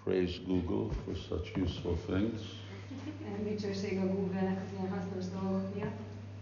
Praise Google for such useful things. Dicsőség a Google-nek az ilyen hasznos dolgok miatt.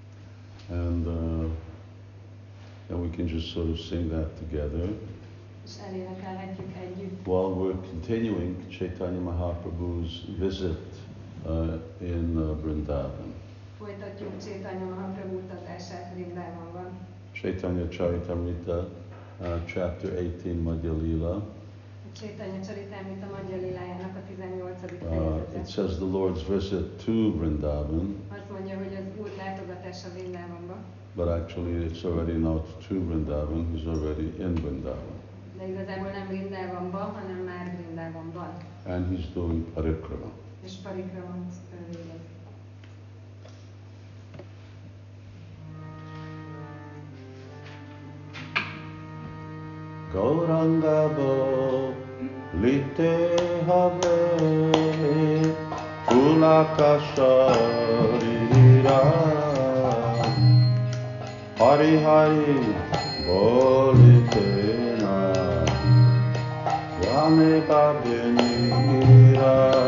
And we can just sort of sing that together. És elénekelhetjük együtt. While we're continuing Chaitanya Mahaprabhu's visit in Vrindavan. Folytatjuk Chaitanya Mahaprabhu utazását Vrindávonban. Chaitanya Charitamrita, chapter 18, Madhya Lila. Chaitanya Charitamrita Madhya Lilájának a 18. fejezete. It says the Lord's visit to Vrindavan. Azt mondja, hogy az Úr látogatása Vrindávonba. But actually it's already not to Vrindavan, he's already in Vrindavan. De igazából nem Vrindávonba, hanem már Vrindávonban. And he's doing parikrama. És parikramot végez. Gauranga bo lite have Pulaka sharira Hari Hari bolite na Yame babinira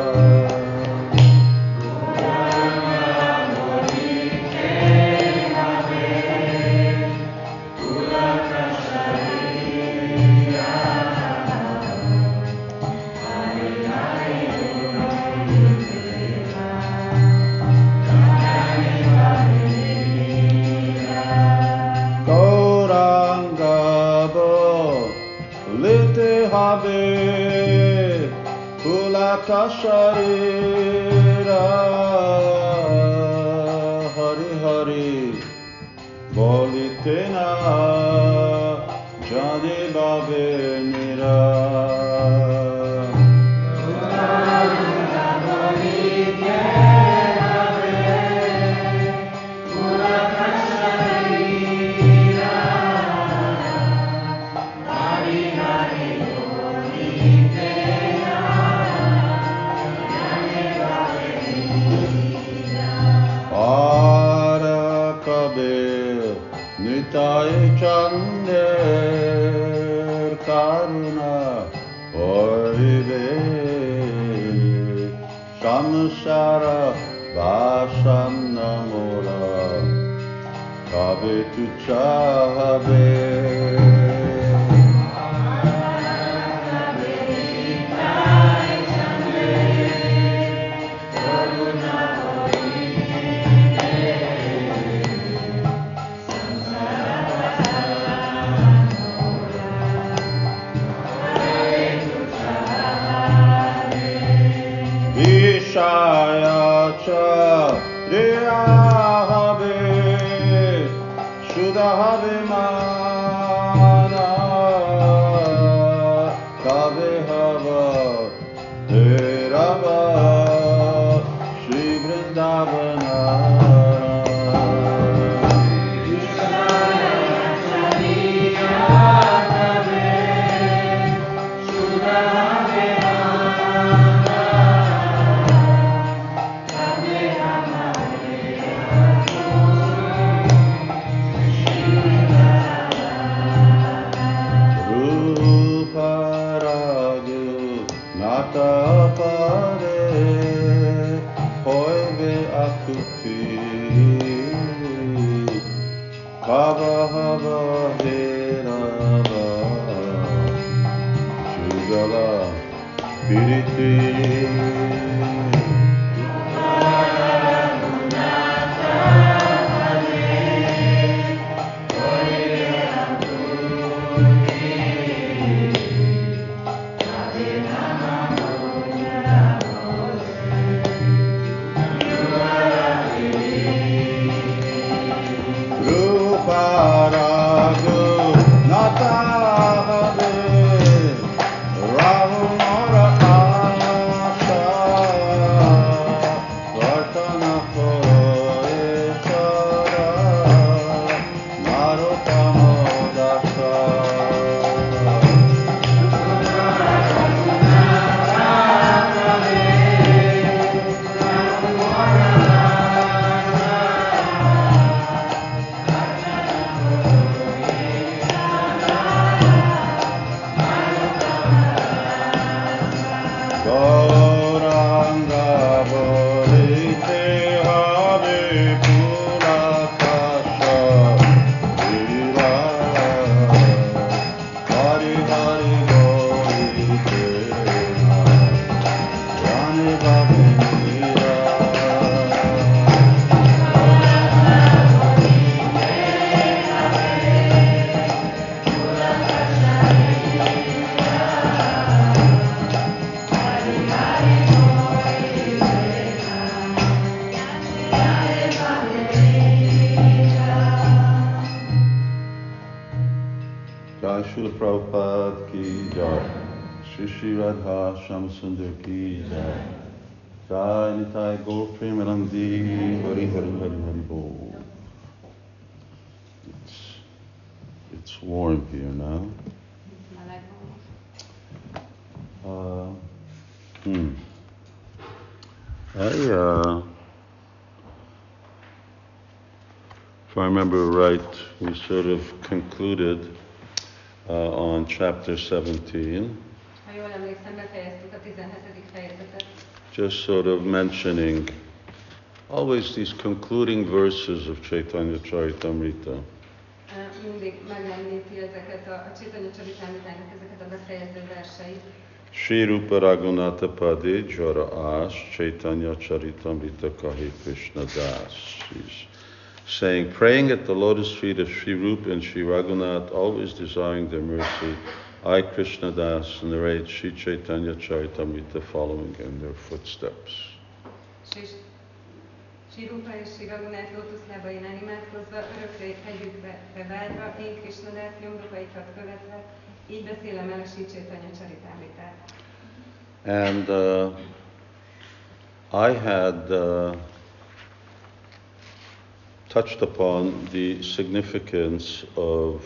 Kasharira Hari Hari Bolitena Jadi Babe Nira Nitai Chander Karuna Oive Samsara Vasam Namora Kabe Tu Chahabe Shayacha Riyahabe Shudahabe Mana Kabe Hava Derava Shri Vrindavana Rahumara Asha Srila Prabhupada ki jai. Shri Radha Shyamsundar ki jai. Jai Nitai Gaur Premanandi Hari Hari Hari Hari Bol. It's warm here now. If I remember right, we sort of concluded on chapter 17. Ha jól emlékszem, befejeztük a 17. fejezetet. Just sort of mentioning always these concluding verses of Chaitanya Charitamrita. Mindig megemlíti ezeket a Chaitanya Charitamritának ezeket a befejező verseit. Shri Rupa Raghunatha Pade Jara As Chaitanya Charitamrita Kahi Krishna Das. She's saying, praying at the lotus feet of Shri Rupa and Shri Raghunath, always desiring their mercy, I, Krishna Das, narrate Shri Chaitanya Charitamrita following in their footsteps. Shri Rupa és Shri Raghunath lótuszlábainál imádkozva, örökre hegyükbe vágyva, én Krishna Das nyomdokaikat követve, így beszélem el a Shri Chaitanya Charitamritát. And I had touched upon the significance of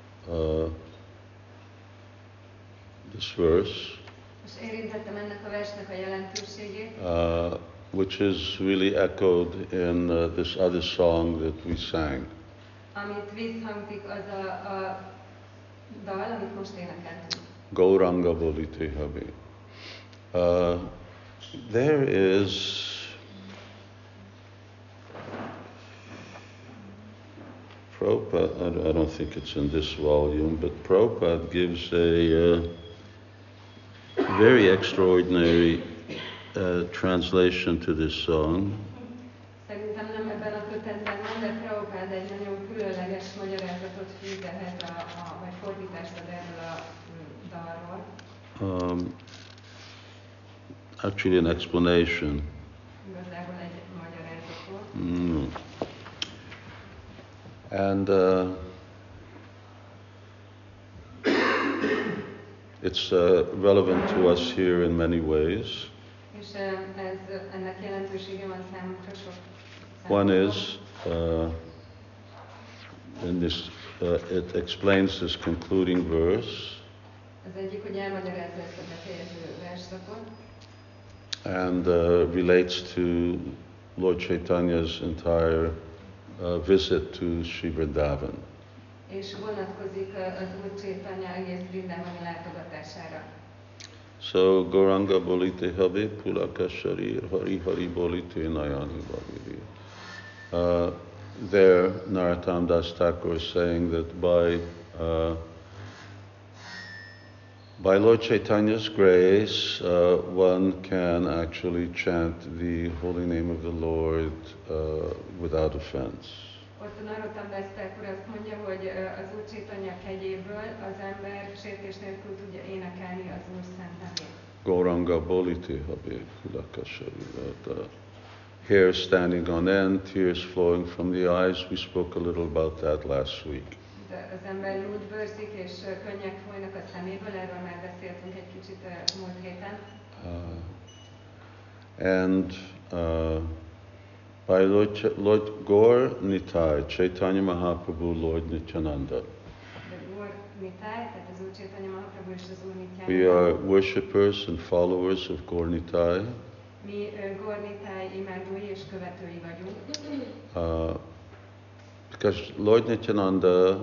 this verse, És érintettem ennek a versnek a jelentőségét, which is really echoed in this other song that we sang. amit visszhangzik az a dal, amit most énekeltünk. Gauranga Bolite Habi. There is Prabhupada, I don't think it's in this volume, but Prabhupada gives a very extraordinary translation to this song. Szerintem nem ebben a kötetben van, de Prabhupada egy nagyon különleges magyarázatot fűz ehhez vagy fordítást ad erről a dalról. Actually an explanation. Igazából egy magyarázatot. And it's relevant to us here in many ways. És ennek jelentősége van számunkra sok. One is, in this, it explains this concluding verse. Az egyik, hogy elmagyarázza ezt a befejező versszakot. And relates to Lord Chaitanya's entire visit to Sri Vrindavan. És vonatkozik az Úr Chaitanya egész Vrindavani látogatására. So Gauranga Bolite Habe Pulaka Sharir Hari Hari Bolite Nayani Bhaviri. There Narottam Das Thakur is saying that by Lord Chaitanya's grace, one can actually chant the holy name of the Lord without offense. Ott Narottam Das Thakur azt mondja, hogy az Úr Chaitanya kegyéből az ember sértés nélkül tudja énekelni az Úr szent nevét. Gauranga Bolite Habe Pulaka Sharir. Hair standing on end, tears flowing from the eyes. We spoke a little about that last week. Az ember úgy bőrzik és könnyek folynak a szeméből, erről már beszéltünk egy kicsit múlt héten. And by Lord Gaur Nitai, Chaitanya Mahaprabhu, Lord Nityananda. We are worshippers and followers of Gaur Nitai. Mi Gaur Nitai imádói és követői vagyunk. Because Lord Nityananda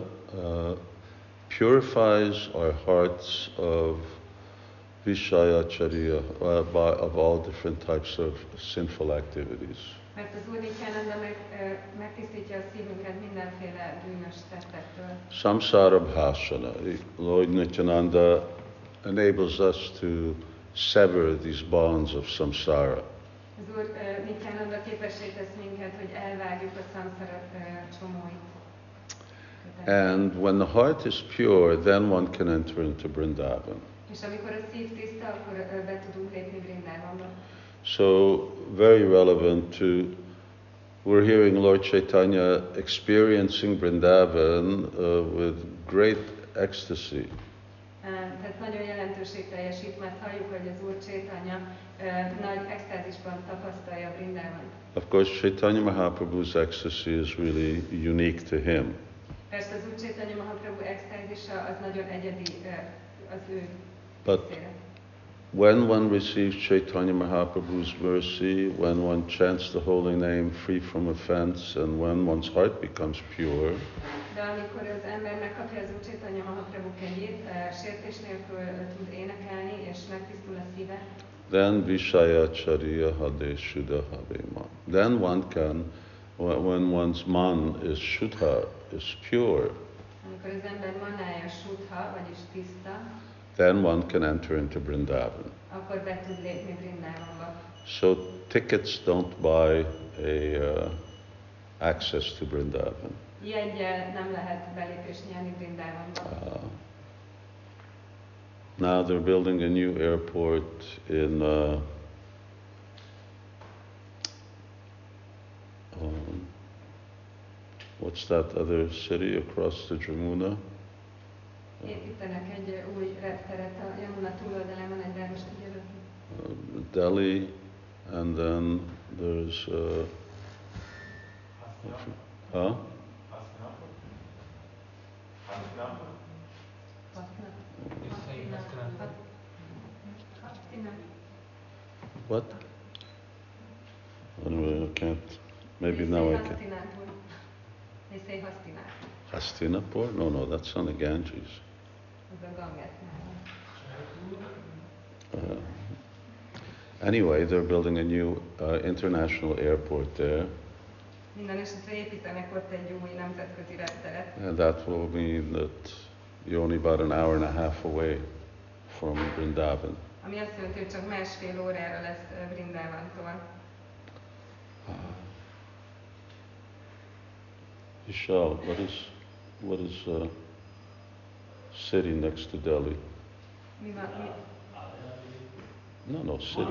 purifies our hearts of Vishayacharya, of all different types of sinful activities. Mert az Úr Nityananda megtisztítja a szívünket mindenféle bűnös tettektől. Samsara bhashana. Lord Nityananda enables us to sever these bonds of samsara. Az Úr Nityananda képessé tesz minket, hogy elvágjuk a samsara csomóit. And when the heart is pure, then one can enter into Vrindavan. És amikor a szív tiszta, akkor be tudunk lépni Vrindavanba. So very relevant to, we're hearing Lord Chaitanya experiencing Vrindavan with great ecstasy. Tehát nagyon jelentőségteljes itt, mert halljuk, hogy az Úr Chaitanya nagy extázisban tapasztalja Vrindávant. Of course, Chaitanya Mahaprabhu's ecstasy is really unique to him. Persze az Úr Chaitanya Mahaprabhu extázisa az nagyon egyedi az ő But részére. when one receives Chaitanya Mahaprabhu's mercy, when one chants the holy name free from offense, and when one's heart becomes pure, De amikor az ember megkapja az Úr Chaitanya Mahaprabhu kegyét, sértés nélkül tud énekelni, és megtisztul a szíve, then Vishaya Chariya Hade Shuddha Havema. Then one can, when one's man is Shuddha, is pure, amikor az ember manája Shuddha, vagyis tiszta, then one can enter into Vrindavan. akkor be tud lépni Vrindávamba. So tickets don't buy access to Vrindavan. Jeggyel nem lehet belépést nyerni Vrindávamba. Now they're building a new airport in what's that other city across the Jamuna? Építenek egy új repteret a Yamuna túloldalán, van egy város, Delhi, and then there's huh? What? Anyway, I can't. Maybe now I can. They say Hastinapur. Hastinapur? No, that's on the Ganges. Az a Ganges. Anyway, they're building a new international airport there. Minden esetre építenek ott egy új nemzetközi repteret. And that will mean that you're only about an hour and a half away from Vrindavan. Ami azt jelenti, hogy csak másfél órára lesz Vrindávantól. Vishal, what is city next to Delhi? Mi van? No, city.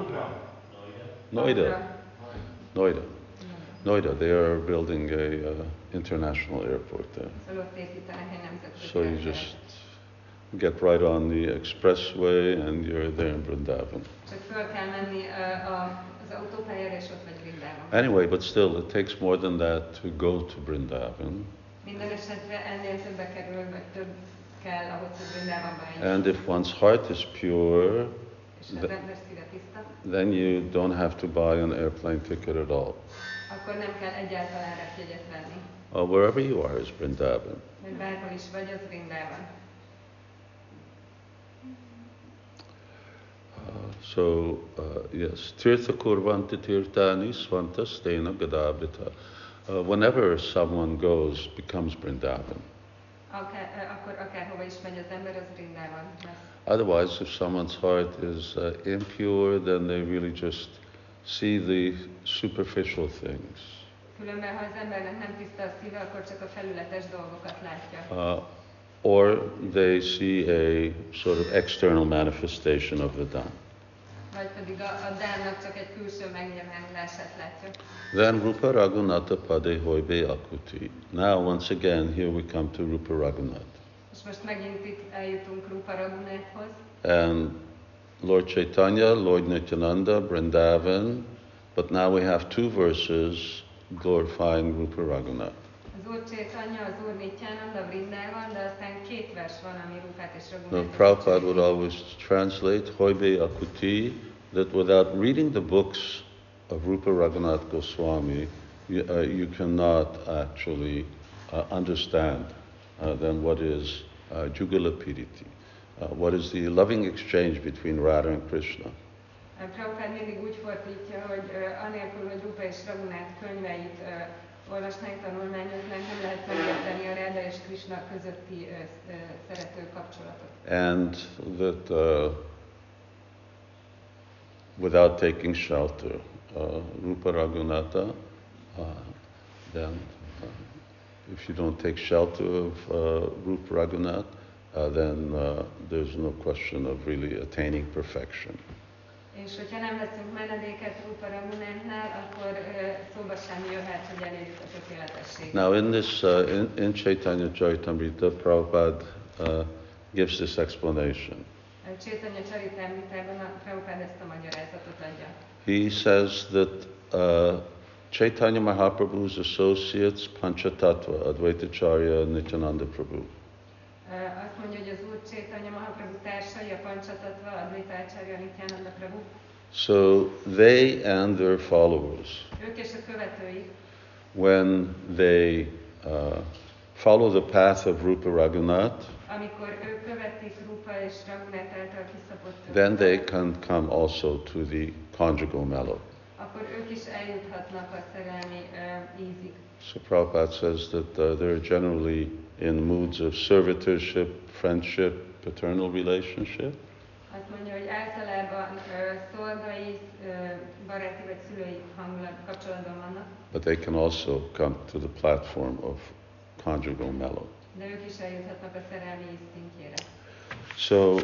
Noida. Noida. They are building a international airport there. Szóval ott építenek egy nemzetközi So you repteret. just get right on the expressway and you're there in Vrindavan. Csak föl kell menni az autópályára, és ott vagy Vrindában. Anyway, but still, it takes more than that to go to Vrindavan. Minden esetre ennél többe kerül, vagy több kell ahhoz, hogy Vrindávamba eljusson. And if one's heart is pure, És ha az ember szíve tiszta, then you don't have to buy an airplane ticket at all. akkor nem kell egyáltalán repjegyet venni. Wherever you are is Vrindavan. Mert bárhol is vagy, az Vrindában. Yes, Tirtha Kurvanti Tirthani Svanta Stena Gadavrita. Whenever someone goes, becomes Vrindavan. Akkor akárhova is megy az ember, az Vrindában lesz. Otherwise, if someone's heart is impure, then they really just see the superficial things. Különben, ha az embernek nem tiszta a szíve, akkor csak a felületes dolgokat látja. Or they see a sort of external manifestation of the Dham. Vagy pedig a Dhámnak csak egy külső megnyilvánulását látja. Then Rupa Raghunatha Pade Hoibe Akuti. Now, once again, here we come to Rupa Raghunath. És most megint itt eljutunk Rupa Raghunathhoz. And Lord Chaitanya, Lord Nityananda, Vrindavan, but now we have two verses glorifying Rupa Raghunath. Az Úr Chaitanya, az Úr Nityananda, Vrindában, de aztán két vers van, ami Rupát és Now, Raghunathot Prabhupada dicsérít. would always translate Hoibe Akuti, that without reading the books of Rupa Raghunath Goswami, you cannot actually understand then what is Jugala Piriti, what is the loving exchange between Radha and Krishna. Prabhupád mindig úgy fordítja, hogy anélkül, hogy Rupa és Raghunath könyveit olvasnánk, tanulmányoznánk, nem lehet megérteni a Radha és Krishna közötti szerető kapcsolatot. And that without taking shelter, Rupa Raghunatha, then if you don't take shelter of Rupa Raghunath, then there's no question of really attaining perfection. És hogyha nem veszünk menedéket Rupa Raghunathnál, akkor szóba sem jöhet, hogy elérjük a tökéletességet. Now in this, in Chaitanya Charitamrita, Prabhupada gives this explanation. Chaitanya Charitamritában a Prabhupád ezt a magyarázatot adja. He says that Chaitanya Mahaprabhu's associates Panchatattva, Advaitacharya, Nityananda Prabhu. Azt mondja, hogy az Úr Chaitanya Mahaprabhu társai, a Panchatattva, Advaitacharya, Nityananda Prabhu. So they and their followers, Ők és a követőik, when they follow the path of Rupa Raghunath, amikor ők követik Rupa és Raghunath által kiszabott then they utat, can come also to the conjugal mellow. akkor ők is eljuthatnak a szerelmi ízig. So Prabhupada says that they're generally in moods of servitorship, friendship, paternal relationship. Azt mondja, hogy általában szolgai, baráti vagy szülői kapcsolatban vannak, But they can also come to the platform of conjugal mellow. de ők is eljuthatnak a szerelmi íz szintjére. So,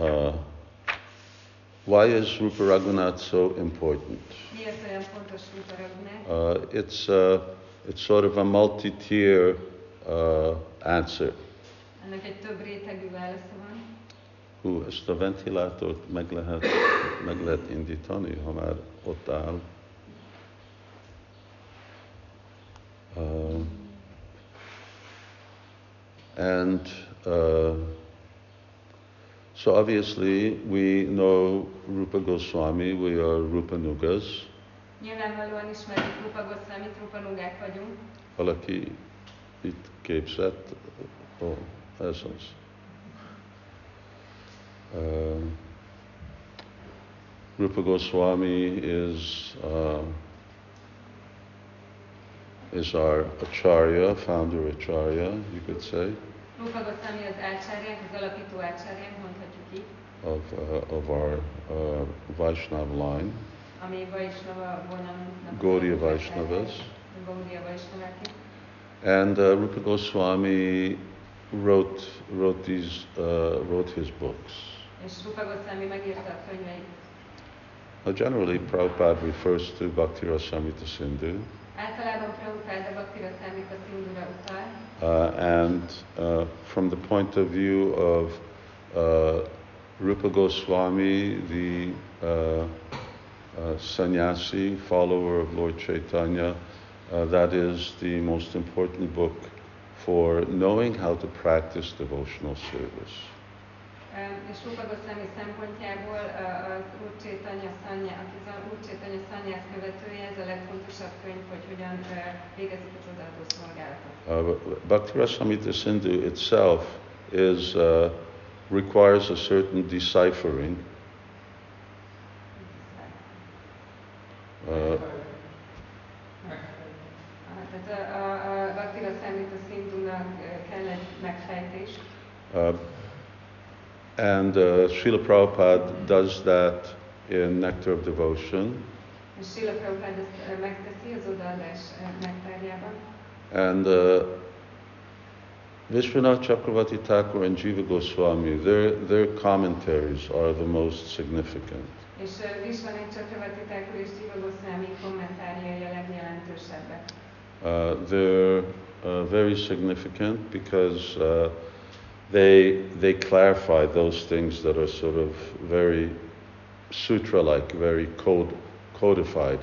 why is Rupa Raghunath so important? Miért olyan fontos Rupa Raghunath? It's sort of a multi-tier answer. Ennek egy több rétegű válasza van. Ezt a ventilátort meg lehet indítani, ha már ott áll. So obviously we know Rupa Goswami, we are Rupanugas. Nyilvánvalóan ismerjük Rupa Goswamit, Rupanugák vagyunk. Valaki itt képzett, ez az. Rupa Goswami is our acharya, founder acharya, you could say, Rupa Goswami az ácsáryánk, az alapító ácsáryánk, mondhatjuk így, of our Vaishnava line, ami Vaishnava vonalunknak Gaudiya Vaishnavas. Gaudiya Vaishnavák. And Rupa Goswami wrote his books. És Rupa Goswami megírta a könyveit. Generally, Prabhupada refers to Bhakti Rasamrita Sindhu. Általában Prabhupáda Bhakti Rasamrita Sindhura utal. And from the point of view of Rupa Goswami, the sannyasi, follower of Lord Chaitanya, that is the most important book for knowing how to practice devotional service. És Rupa Goswami szempontjából az Úr Chaitanya szannyász követője, ez a legfontosabb könyv, hogy hogyan végezik a csodálatos szolgálatot. Bhakti Rasamrita Sindhu itself requires a certain deciphering. Tehát a Bhakti Rasamrita Sindhunak kell egy megfejtés. And Srila Prabhupada does that in Nectar of Devotion. És Srila Prabhupada ezt megteszi az odaadás nektárjában. And Vishwanath Chakravarti Thakur and Jiva Goswami, their commentaries are the most significant. És Vishwanath Chakravarti Thakur és Jiva Goswami kommentárjai a legjelentősebbek. They're very significant because they clarify those things that are sort of very sutra-like, very codified.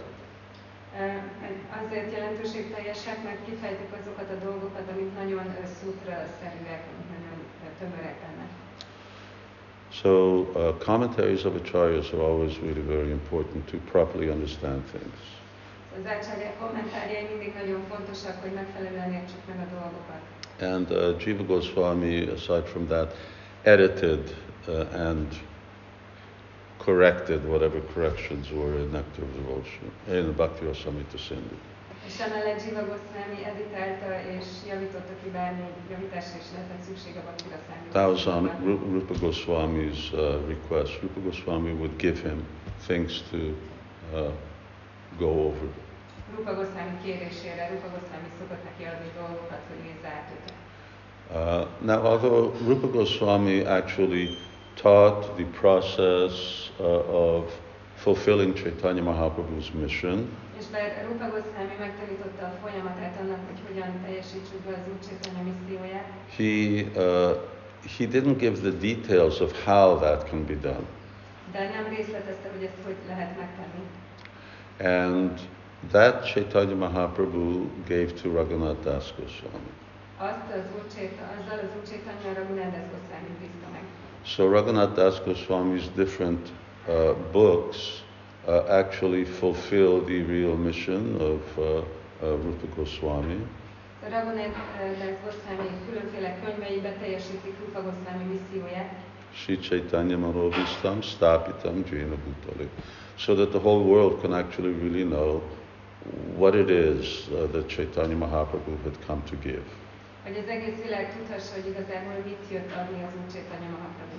Azért jelentőségteljesek, mert kifejtik azokat a dolgokat, amik nagyon sutra-szerűek, nagyon tömörek ennek. So commentaries of acharyas are always really very important to properly understand things. Az ácsáryák kommentárjai mindig nagyon fontosak, hogy megfelelően értsük meg a dolgokat. And Jiva Goswami, aside from that, edited and corrected whatever corrections were in Nectar of Devotion, in Bhakti Rasamrita Sindhu. És emellett Jiva Goswami editálta és javította ki bármi javításra is lehetett szükség a Bhakti Rasamrita. That was on Rupa Goswami's request. Rupa Goswami would give him things to go over. Rupa Goswami kérésére, Rupa Goswami szokott neki adni dolgokat, hogy nézze át őket. Now, although Rupa Goswami actually taught the process of fulfilling Chaitanya Mahaprabhu's mission, És bár Rupa Goswami megtanította a folyamatát annak, hogy hogyan teljesítsük be az Úr Chaitanya misszióját, he didn't give the details of how that can be done. De nem részletezte, hogy ezt hogy lehet megtenni. And that Chaitanya Mahaprabhu gave to Raghunath Das Goswami. Azzal az Úr Chaitanya Raghunath Das Goswami bízta meg. So Raghunath Das Goswami's different books actually fulfill the real mission of Rupa Goswami. Raghunath Das Goswami különféle könyvei beteljesítik Rupa Goswami misszióját. Sri Chaitanya Manovistam Stapitam Jena Bhutale. So that the whole world can actually really know what it is that Chaitanya Mahaprabhu had come to give. Hogy az egész világ tudhassa, hogy igazából mit jött adni az Úr Chaitanya Mahaprabhu.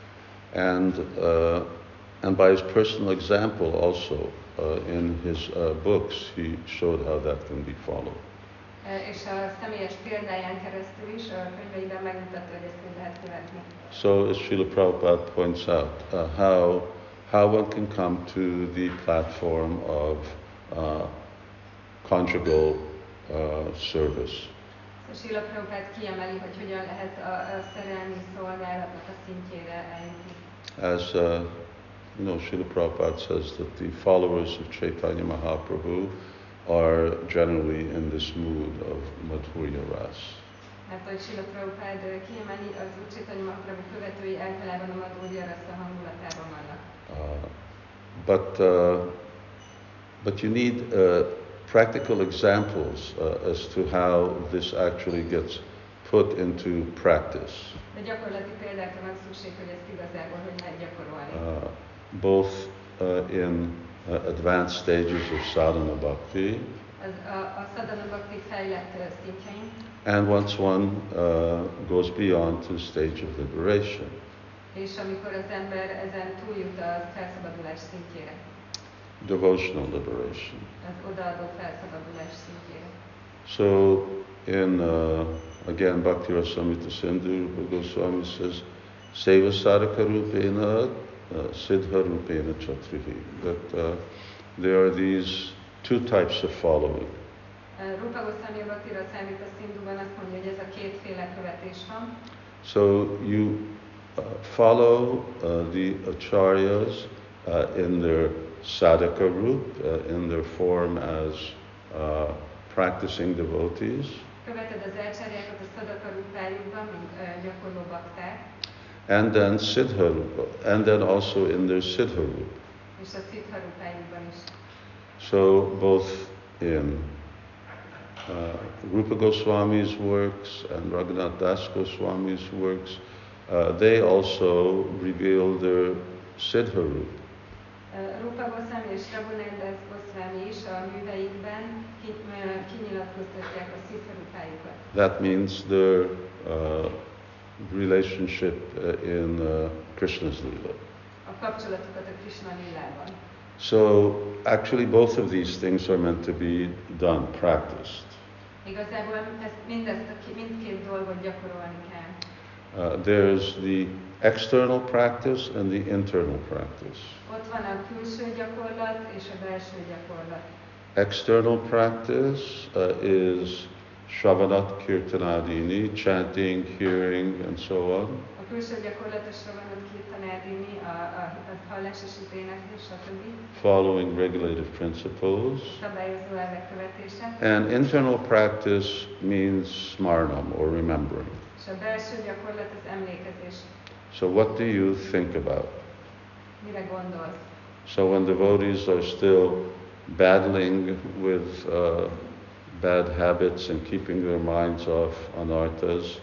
And by his personal example also, in his books, he showed how that can be followed. És a személyes példáján keresztül is a könyveiben megmutatta, hogy ezt lehet követni. So as Srila Prabhupada points out, how one can come to the platform of conjugal service. Srila Prabhupada kiemeli, hogy hogyan lehet a szerelmi szolgálatnak a szintjére eljutni. As Srila Prabhupada says that the followers of Chaitanya Mahaprabhu are generally in this mood of Madhurya Ras. Mert hogy Srila Prabhupada kiemeli, az Úr Chaitanya Mahaprabhu követői általában a Madhurya Rasa hangulatában vannak. But you need practical examples as to how this actually gets put into practice. De gyakorlati példákra van szükség, hogy ezt igazából hogy lehet gyakorolni. Both in advanced stages of sadhana bhakti. A sadhana bhakti fejlett szintjein. And once one goes beyond to the stage of liberation. És amikor az ember ezen túljut a felszabadulás szintjére. Devotional liberation. Az odaadó felszabadulás szintjére. So in again Bhakti Rasamrita Sindhu, Rupa Goswami says, Seva Sadhaka Rupena, Siddha Rupena Chatrihi. That there are these two types of following. Rupa Goswami Bhakti Rasamrita Sindhuban azt mondja, hogy ez a kétféle követés van. So you follow the acharyas in their sadhaka roop, in their form as practicing devotees. Követed az ácsáryákat a sadhaka rúpájukban, mint gyakorló bakták. And then siddha rupa, and then also in their siddha roop. És a siddha rúpájukban is. So both in Rupa Goswami's works and Raghunath Das Goswami's works, they also reveal their siddha roop. Rupa Goswami és Raghunath Das Goswami is a műveikben kinyilatkoztatják a siddha rúpájukat. That means their relationship in Krishna's Lila. A kapcsolatukat a Krishna lilában. So actually both of these things are meant to be done, practiced. Igazából mindkét dolgot gyakorolni kell. There's the external practice and the internal practice. Ott van a külső gyakorlat és a belső gyakorlat. External practice is Shravanat Kirtanadini, chanting, hearing, and so on. A külső gyakorlat a Shravanat Kirtanadini, a hallás és az éneklés, stb. Following regulative principles. Szabályozó elvek követése. And internal practice means smarnam, or remembering. És a belső gyakorlat az emlékezés. So what do you think about? Mire gondolsz? So when devotees are still battling with bad habits and keeping their minds off anarthas,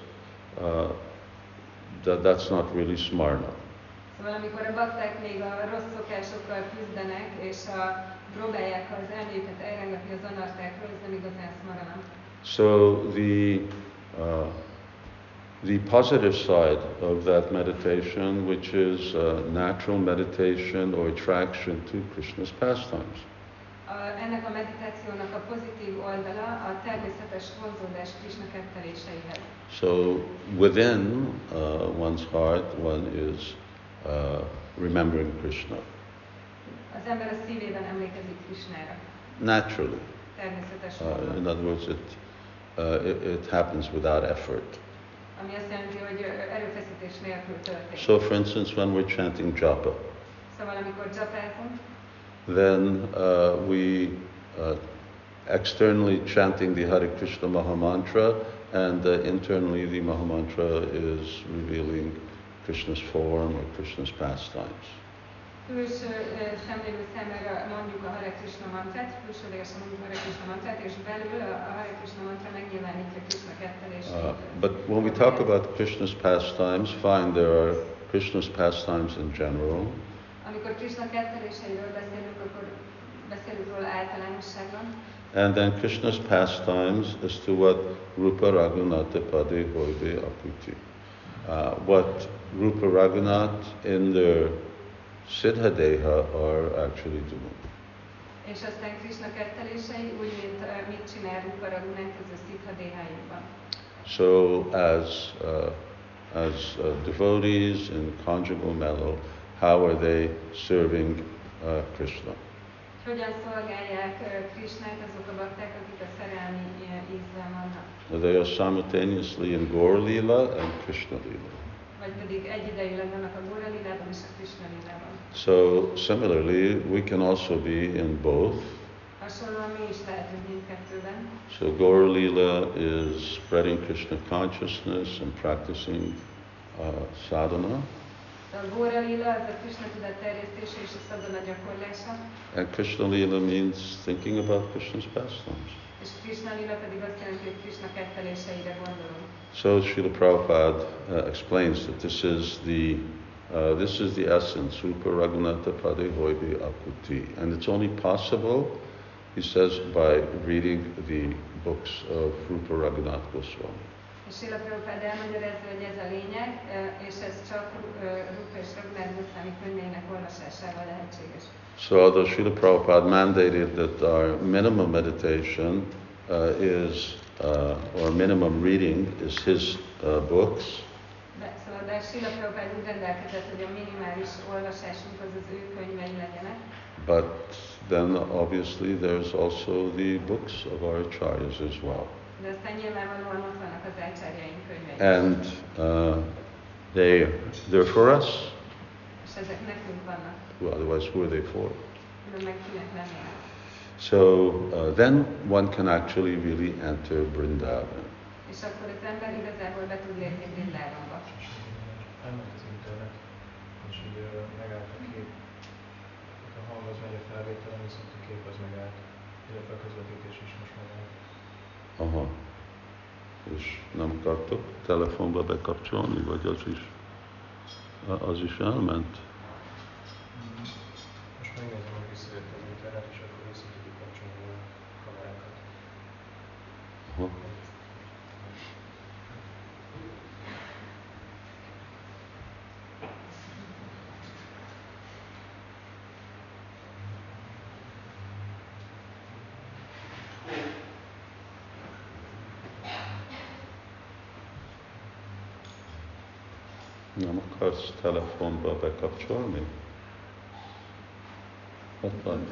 that's not really smarna. Szóval amikor a bakták még a rossz szokásokkal küzdenek, és próbálják az elméjüket elrengetni az anartákról, ez nem igazán smarana. So the positive side of that meditation, which is natural meditation or attraction to Krishna's pastimes. Ennek a meditációnak a pozitív oldala a természetes vonzódás Krishna ketteléseihez. So within one's heart, one is remembering Krishna. Az ember a szívében emlékezik Krishnára. Naturally. Természetes módon. In other words, it happens without effort. ami azt jelenti, hogy erőfeszítés nélkül történik. So for instance, when we're chanting japa, Szóval amikor japázunk, then we externally chanting the Hare Krishna Maha Mantra, and internally the Maha Mantra is revealing Krishna's form or Krishna's pastimes. Külső szemlélő számára mondjuk a Hare Krishna mantrát, külsőlegesen mondjuk a Hare Krishna mantrát, és belül a Hare Krishna mantra megnyilvánítja Krishna kettelését. But when we talk about Krishna's pastimes, fine, there are Krishna's pastimes in general. Amikor Krishna ketteléseiről beszélünk, akkor beszélünk róla általánosságban. And then Krishna's pastimes as to what Rupa Raghunatha Pade Hoide Akuti. What Rupa Raghunath in their Siddhadeha are actually doing. És aztán Krishna kettelései úgy, mint mit csinál Rupa Raghunath az a Siddhadehájukban. So as devotees in conjugal mellow, how are they serving Krishna? Hogyan szolgálják Krishnát azok a bakták, akik a szerelmi ízzel vannak? They are simultaneously in Gaur Lila and Krishna Lila. Vagy pedig egyidejűleg vannak a Gaura Lilában és a Krishna Lilában. So similarly, we can also be in both. Hasonlóan mi is lehetünk mindkettőben. So Gaur Lila is spreading Krishna consciousness and practicing sadhana. A Gaura Lila az a Krishna tudat terjesztése és a sadhana gyakorlása. And Krishna Lila means thinking about Krishna's pastimes. És Krishna Lila pedig azt jelenti, hogy Krishna ketteléseire gondolunk. So Srila Prabhupada explains that this is the essence, Rupa Raghunatha Pade Hoide Akuti. And it's only possible, he says, by reading the books of Rupa Raghunath Goswami. És Srila Prabhupada elmagyarázza, hogy ez a lényeg, és ez csak Rupa és Raghunath Goswami könyveinek olvasásával lehetséges. So although Srila Prabhupada mandated that our minimum meditation or minimum reading is his books, de Srila Prabhupada úgy rendelkezett, hogy a minimális olvasásunk az az ő könyvei legyenek. but then obviously there's also the books of our acharyas as well. De aztán nyilvánvalóan ott vannak az ácsárjaink könyvei. And they're for us. És ezek nekünk vannak. Otherwise, who are they for? De meg kinek lennének. So then one can actually really enter Vrindavan. És akkor az ember igazából be tud lépni Vrindávonba. Elment az internet, és így megállt a kép. A hang az megy a felvételen, viszont a kép az megállt. Illetve a közvetítés is most megállt. Aha. És nem akartok telefonba bekapcsolni, vagy az is elment? Most megnézem, hogy visszajött az internet, és akkor vissza tudjuk kapcsolni a kamerákat. Aha. Nem akarsz telefonba bekapcsolni? Ott van.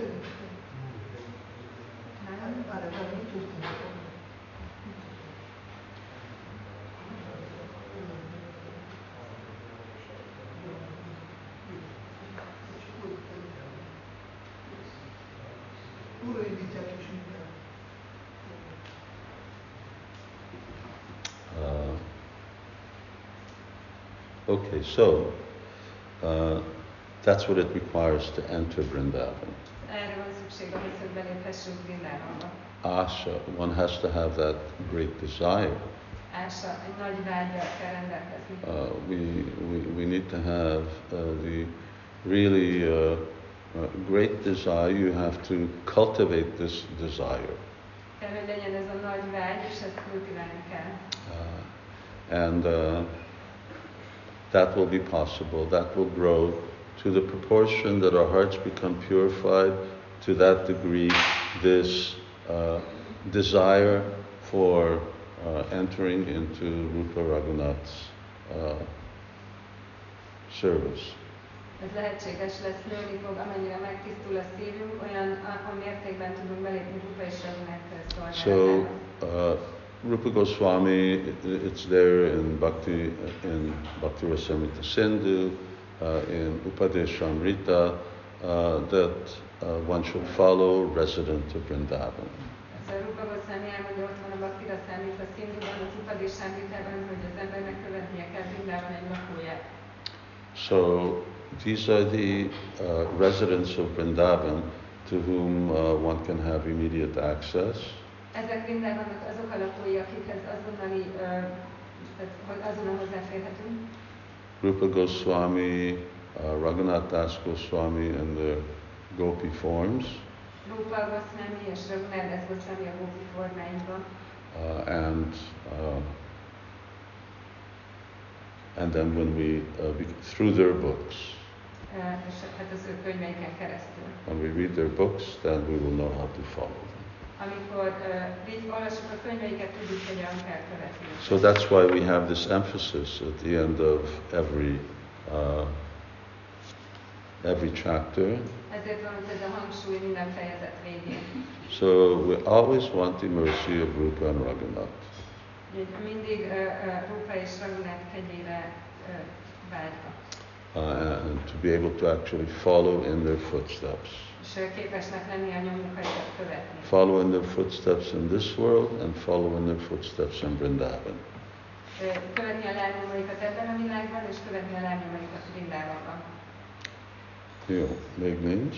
Okay, so that's what it requires to enter Vrindavan. Erre van szükség ahhoz, hogy beléphessünk Vrindávonba. Asha, one has to have that great desire. Ása, egy nagy vággyal kell rendelkezni. We need to have the really great desire. You have to cultivate this desire. Kell, hogy legyen ez a nagy vágy, és ezt kultiválni kell. And that will be possible. That will grow to the proportion that our hearts become purified. To that degree, this desire for entering into Rupa Raghunath's service. Ez lehetséges lesz, nőni fog, amennyire megtisztul a szívünk, olyan mértékben tudunk belépni Rupa és Raghunath szolgálatába. So Rupa Goswami, it's there in Bhakti Rasamrita Sindhu, in Upadeshamrita, that one should follow resident of Vrindavan. Ez a Rupa Goswami elmondja, ott van a Bhakti Rasamrita Sindhuban, az Upadeshamritában, hogy az embernek követnie kell Vrindavan egy lakóját. So these are the residents of Vrindavan to whom one can have immediate access. Ezek Vrindavannak azok a lakói, akikhez azonnali, azonnal hozzáférhetünk. Rupa Goswami, Raghunath Das Goswami in the Gopi forms. Rupa Goswami és Raghunath Das Goswami a Gopi formáiban. And then when we, through their books, És hát az ő könyveiken keresztül. when we read their books, then we will know how to follow them. Amikor így olvassuk a könyveiket, tudjuk, hogyan kell követni. So that's why we have this emphasis at the end of every chapter. Ezért van ez a hangsúly minden fejezet végén. So we always want the mercy of Rupa and Raghunath. Mindig Rupa és Raghunath kegyére vágyva. And to be able to actually follow in their footsteps. És képesnek lenni a nyomukaikat követni. Follow in their footsteps in this world and follow in their footsteps in Vrindavan. Követni a lábnyomaikat ebben a világban, és követni a lábnyomaikat Vrindavanban. Jó, még nincs?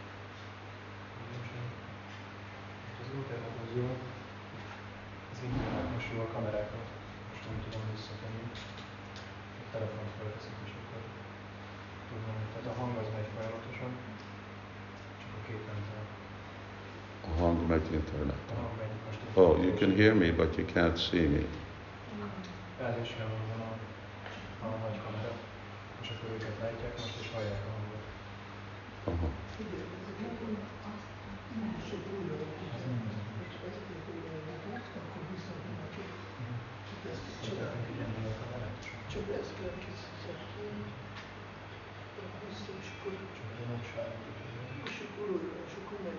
Az internet az jó. Az internet most jó, a kamerákat most nem tudom visszatenni. A telefont felveszik, és akkor tudom. Tehát a hang az megy folyamatosan, csak a kép nem tart. A hang megy interneten. A hang megy most. Oh, you can hear me, but you can't see me. Elésre van a nagy kamera, és akkor őket látják most, és hallják a hangot. Aha. Csak ezt kell kiszedni, és akkor megy.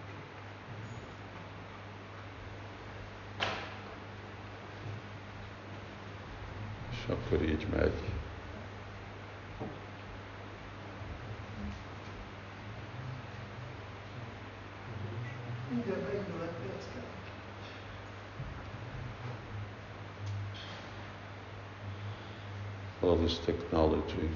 És akkor így megy. Mindjárt beindul egy perc kell. All this technology.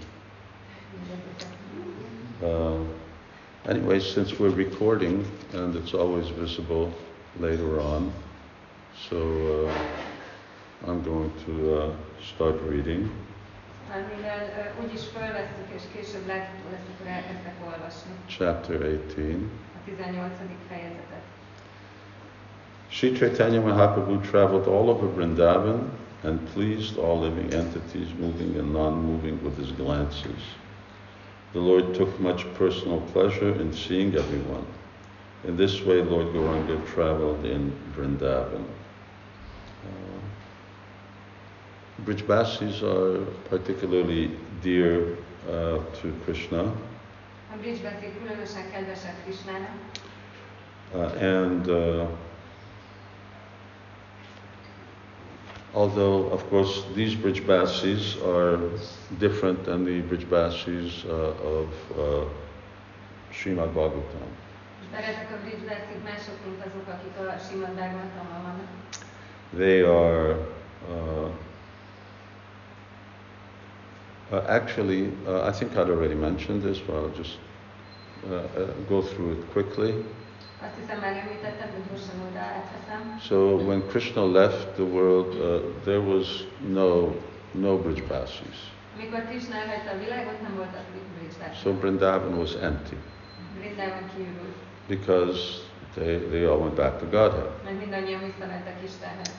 Anyway, since we're recording and it's always visible later on, so I'm going to start reading. Mivel úgyis felvesszük és később látható lesz, akkor elkezdek olvasni. Chapter 18. A 18. fejezetet. Sri Chaitanya Mahaprabhu traveled all over Vrindavan and pleased all living entities, moving and non-moving, with his glances. The Lord took much personal pleasure in seeing everyone. In this way, Lord Gauranga traveled in Vrindavan. Brijbasis are particularly dear to Krishna. A Brijbaszik különösen kedvesek Krishnának. Although, of course, these Brijbasis are different than the Brijbasis of Srimad Bhagavatam. De ezek a Brijbaszik mások, mint azok, akik a Srimad Bhagavatamban vannak. They are actually, I think I'd already mentioned this, but I'll just go through it quickly. Azt hiszem már említettem, hogy gyorsan oda átveszem. So when Krishna left the world, there was no Brijbasis. Amikor Krishna elhagyta a világot, nem voltak Brijbasik. So Vrindavan was empty Vrindavan kiürült. because they all went back to Godhead. Mert mindannyian visszamentek Istenhez.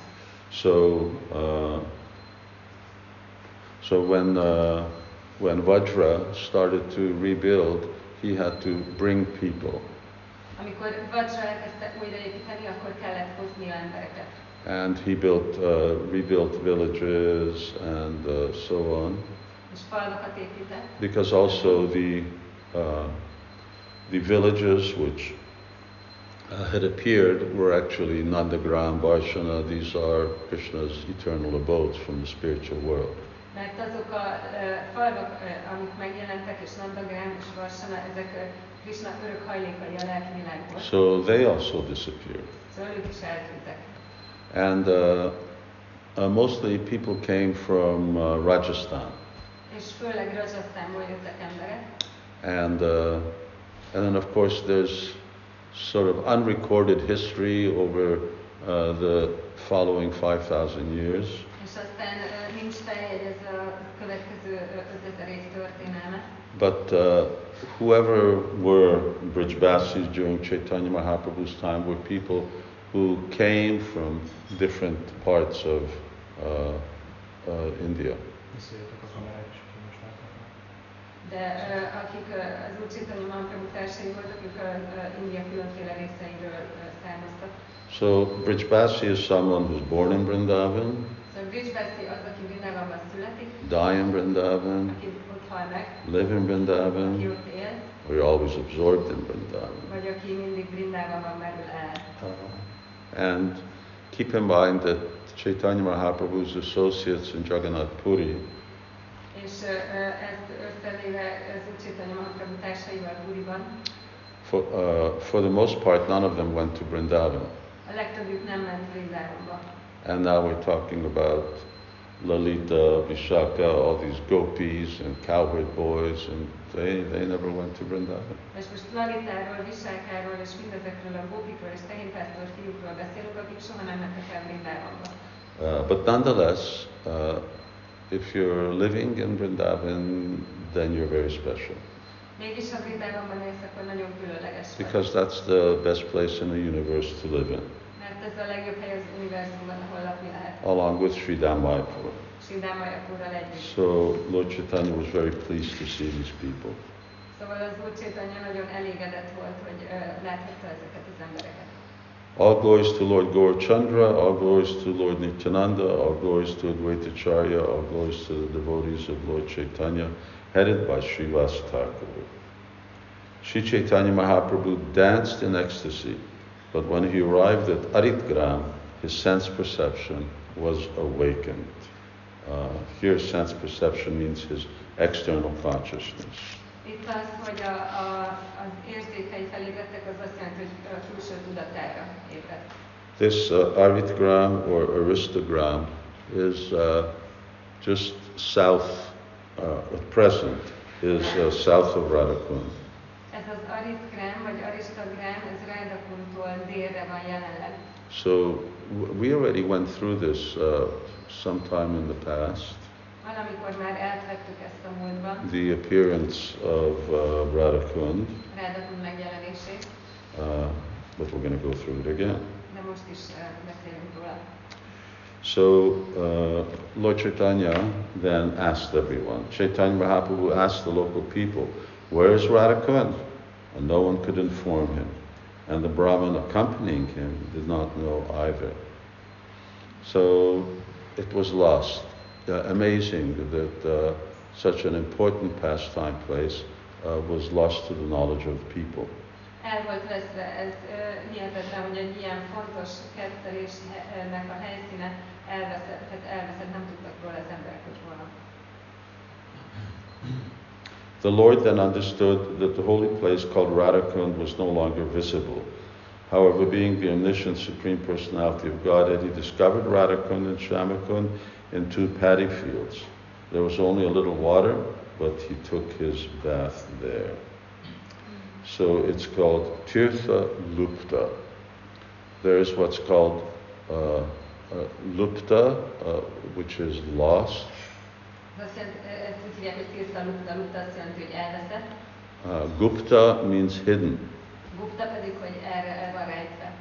So when Vajra started to rebuild, he had to bring people. Amikor Vajra elkezdte újraépíteni, akkor kellett hozni embereket. And he rebuilt villages and so on. És falvakat épített. Because also the villages which had appeared were actually Nandagram, Varshana. These are Krishna's eternal abodes from the spiritual world. Mert azok a falvak, amik megjelentek, és Nandagram és Varsana, ezek Krishna örök hajlékai a lelki világból. So they also disappeared. Szóval ők is eltűntek. And mostly people came from Rajasthan. És főleg Rajasztánból jöttek emberek. And then of course there's sort of unrecorded history over the following 5,000 years. És aztán nincs feljegyezve a következő 5000 év történelme. But whoever were Brijbasis during Chaitanya Mahaprabhu's time were people who came from different parts of India. Visszajöttek a kamerák is, akik most láthatnak. De akik az Úr Chaitanya Mahaprabhu társai voltak, ők India különféle részeiről származtak. So Brijbasi is someone who's born in Vrindavan, Szóval Brijbasi az, aki Vrindavanban születik, die in Vrindavan, aki ott hal meg, live in aki Vrindavan, ott él, or you're always absorbed in Vrindavan. vagy aki mindig Vrindavanban merül el. And keep in mind that Chaitanya Mahaprabhu's associates in Jagannath Puri És ezt összevéve az Úr Chaitanya Mahaprabhu társaival Puriban, for the most part, none of them went to Vrindavan. a legtöbbjük nem ment Vrindavanba. And now we're talking about Lalita, Vishaka, all these gopis and cowherd boys, and they never went to Vrindavan. És most Lalitáról, Visákáról és mindezekről a gópikról és tehénpásztor fiúkról beszélünk, akik soha nem mentek el Vrindavanba. But nonetheless, if you're living in Vrindavan, then you're very special. Mégis ha Vrindavanban élsz, akkor nagyon különleges vagy. Because that's the best place in the universe to live in, Mert ez a legjobb hely az univerzumban, ahol lakni lehet. along with Sri Dammayapur. Sridhar Mayapurral együtt. So Lord Chaitanya was very pleased to see these people. Szóval az Úr Chaitanya nagyon elégedett volt, hogy láthatta ezeket az embereket. All glories to Lord Gaurachandra, all glories to Lord Nityananda, all glories to Advaita Acharya, all glories to the devotees of Lord Chaitanya, headed by Srivas Thakur. Sri Chaitanya Mahaprabhu danced in ecstasy, but when he arrived at Aritgram, his sense perception was awakened. Here sense perception means his external consciousness. Itt az, hogy az érzékei felébredtek, az azt jelenti, hogy a külső tudatára ébredt. This Aritgram or Aristogram is just south, at present, is south of Radhakund. Ez az Aritgram vagy Aristogram, ez Radhakuntól délre van jelenleg. So we already went through this sometime in the past, Valamikor már átvettük ezt a múltban, the appearance of Radhakund, Radhakund megjelenését, but we're going to go through it again. de most is beszélünk róla. So Lord Chaitanya then asked everyone. Chaitanya Mahaprabhu asked the local people, "Where is Radhakund?" And no one could inform him. And the Brahmin accompanying him did not know either. So it was lost. Amazing that such an important pastime place was lost to the knowledge of people. El volt veszve, ez hihetetlen, hogy egy ilyen fontos kettelésnek a helyszíne elveszett, nem tudtak róla az emberek, hogy hol van. The Lord then understood that the holy place called Radhakund was no longer visible. However, being the omniscient Supreme Personality of Godhead, he discovered Radhakund and Shyamakund in two paddy fields. There was only a little water, but he took his bath there. So it's called Tirtha Lupta. There is what's called Lupta, which is lost. Ezt úgy hívják, hogy Tirtha Lupta, Lupta azt jelenti, hogy elveszett. Gupta means hidden. Gupta pedig, hogy erre el van rejtve.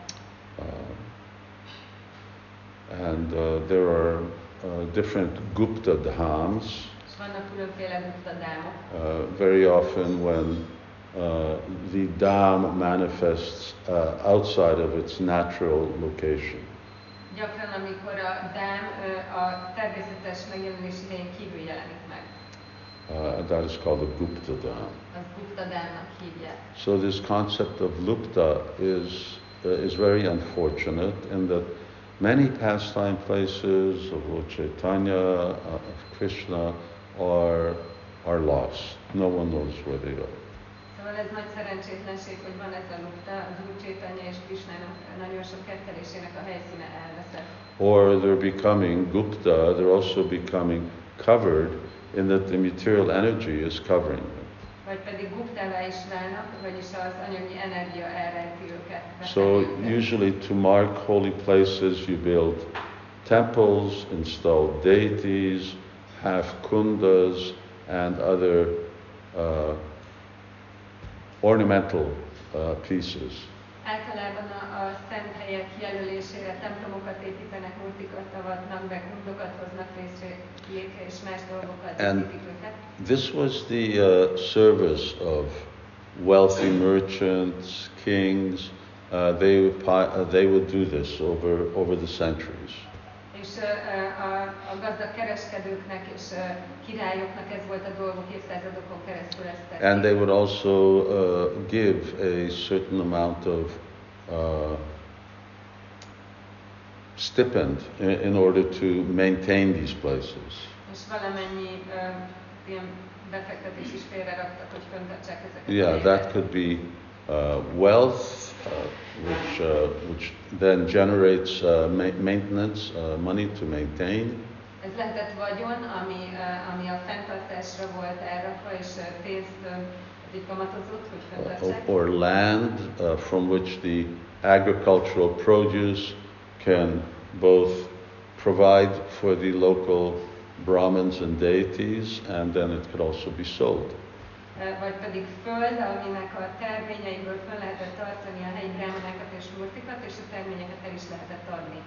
And there are different Gupta dhams. És vannak különféle Gupta dámok. Very often when the dham manifests outside of its natural location. Gyakran, amikor a dám a természetes megjelenés idején kívül jelenik meg. And that is called a Gupta dham. Az Gupta dámnak hívják. So this concept of Lupta is is very unfortunate in that many pastime places of Lord Chaitanya, of Krishna, are lost. No one knows where they are. Szóval ez nagy szerencsétlenség, hogy van ez a lukta, az Úr Chaitanya és Krishnának nagyon sok kettelésének a helyszíne elveszett. Or they're becoming Gupta, they're also becoming covered in that the material energy is covering them. Vagy pedig guptává is válnak, vagyis az anyagi energia elrejti őket. So usually to mark holy places you build temples, install deities, have kundas and other ornamental pieces. Általában a szent helyek jelölésére templomokat építenek, multikat avatnak be, kundokat hoznak létre és más dolgokat építik őket. This was the service of wealthy merchants, kings. They would do this over the centuries. És a gazdag kereskedőknek és királyoknak ez volt a dolguk évszázadokon keresztül ezt tették. And they would also give a certain amount of stipend in order to maintain these places. És valamennyi ilyen befektetés is félreraktak, hogy fenntartsák ezeket. Yeah, that could be wealth, which then generates maintenance, money to maintain. Ez lehetett vagyon, ami a fenntartásra volt elrakva, és pénzt így kamatozott, hogy fenntartsák. Or land from which the agricultural produce can both provide for the local Brahmins and deities, and then it could also be sold. Vagy pedig föld, aminek a terményeiből fel lehetett tartani a helyi brámanákat és murtikat, és a terményeket el is lehetett adni.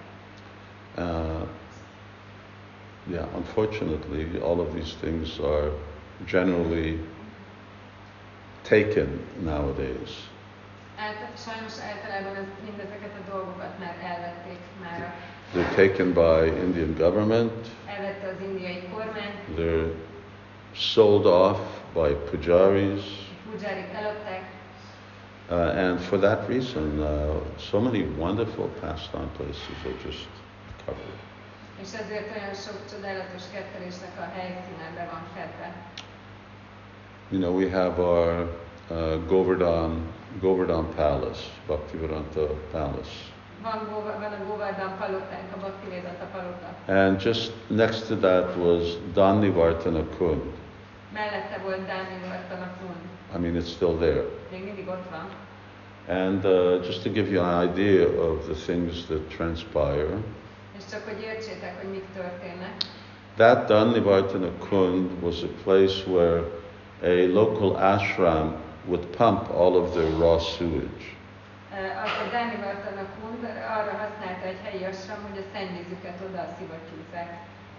Yeah, unfortunately, all of these things are generally taken nowadays. Sajnos általában mindezeket a dolgokat már elvették mára. They're taken by Indian government. Elvette az indiai kormány. They're sold off by pujaris. Pujárik eladták. And for that reason, so many wonderful pastime places are just covered. És ezért olyan sok csodálatos kettelésnek a helyszíne be van fedve. You know, we have our Govardhan Palace, Bhaktivedanta Palace. Van a Govardhan palotánk, a Bhaktivedanta palota. And just next to that was Danivartana Kund. Mellette volt Danivartana Kund. I mean, it's still there. Még mindig ott van. And just to give you an idea of the things that transpire, és csak hogy értsétek, hogy mik történnek. That Danivartana Kund was a place where a local ashram would pump all of their raw sewage. A Danivartana Kund arra használta egy helyi ashram, hogy a szennyvízüket oda szivattyúzzák.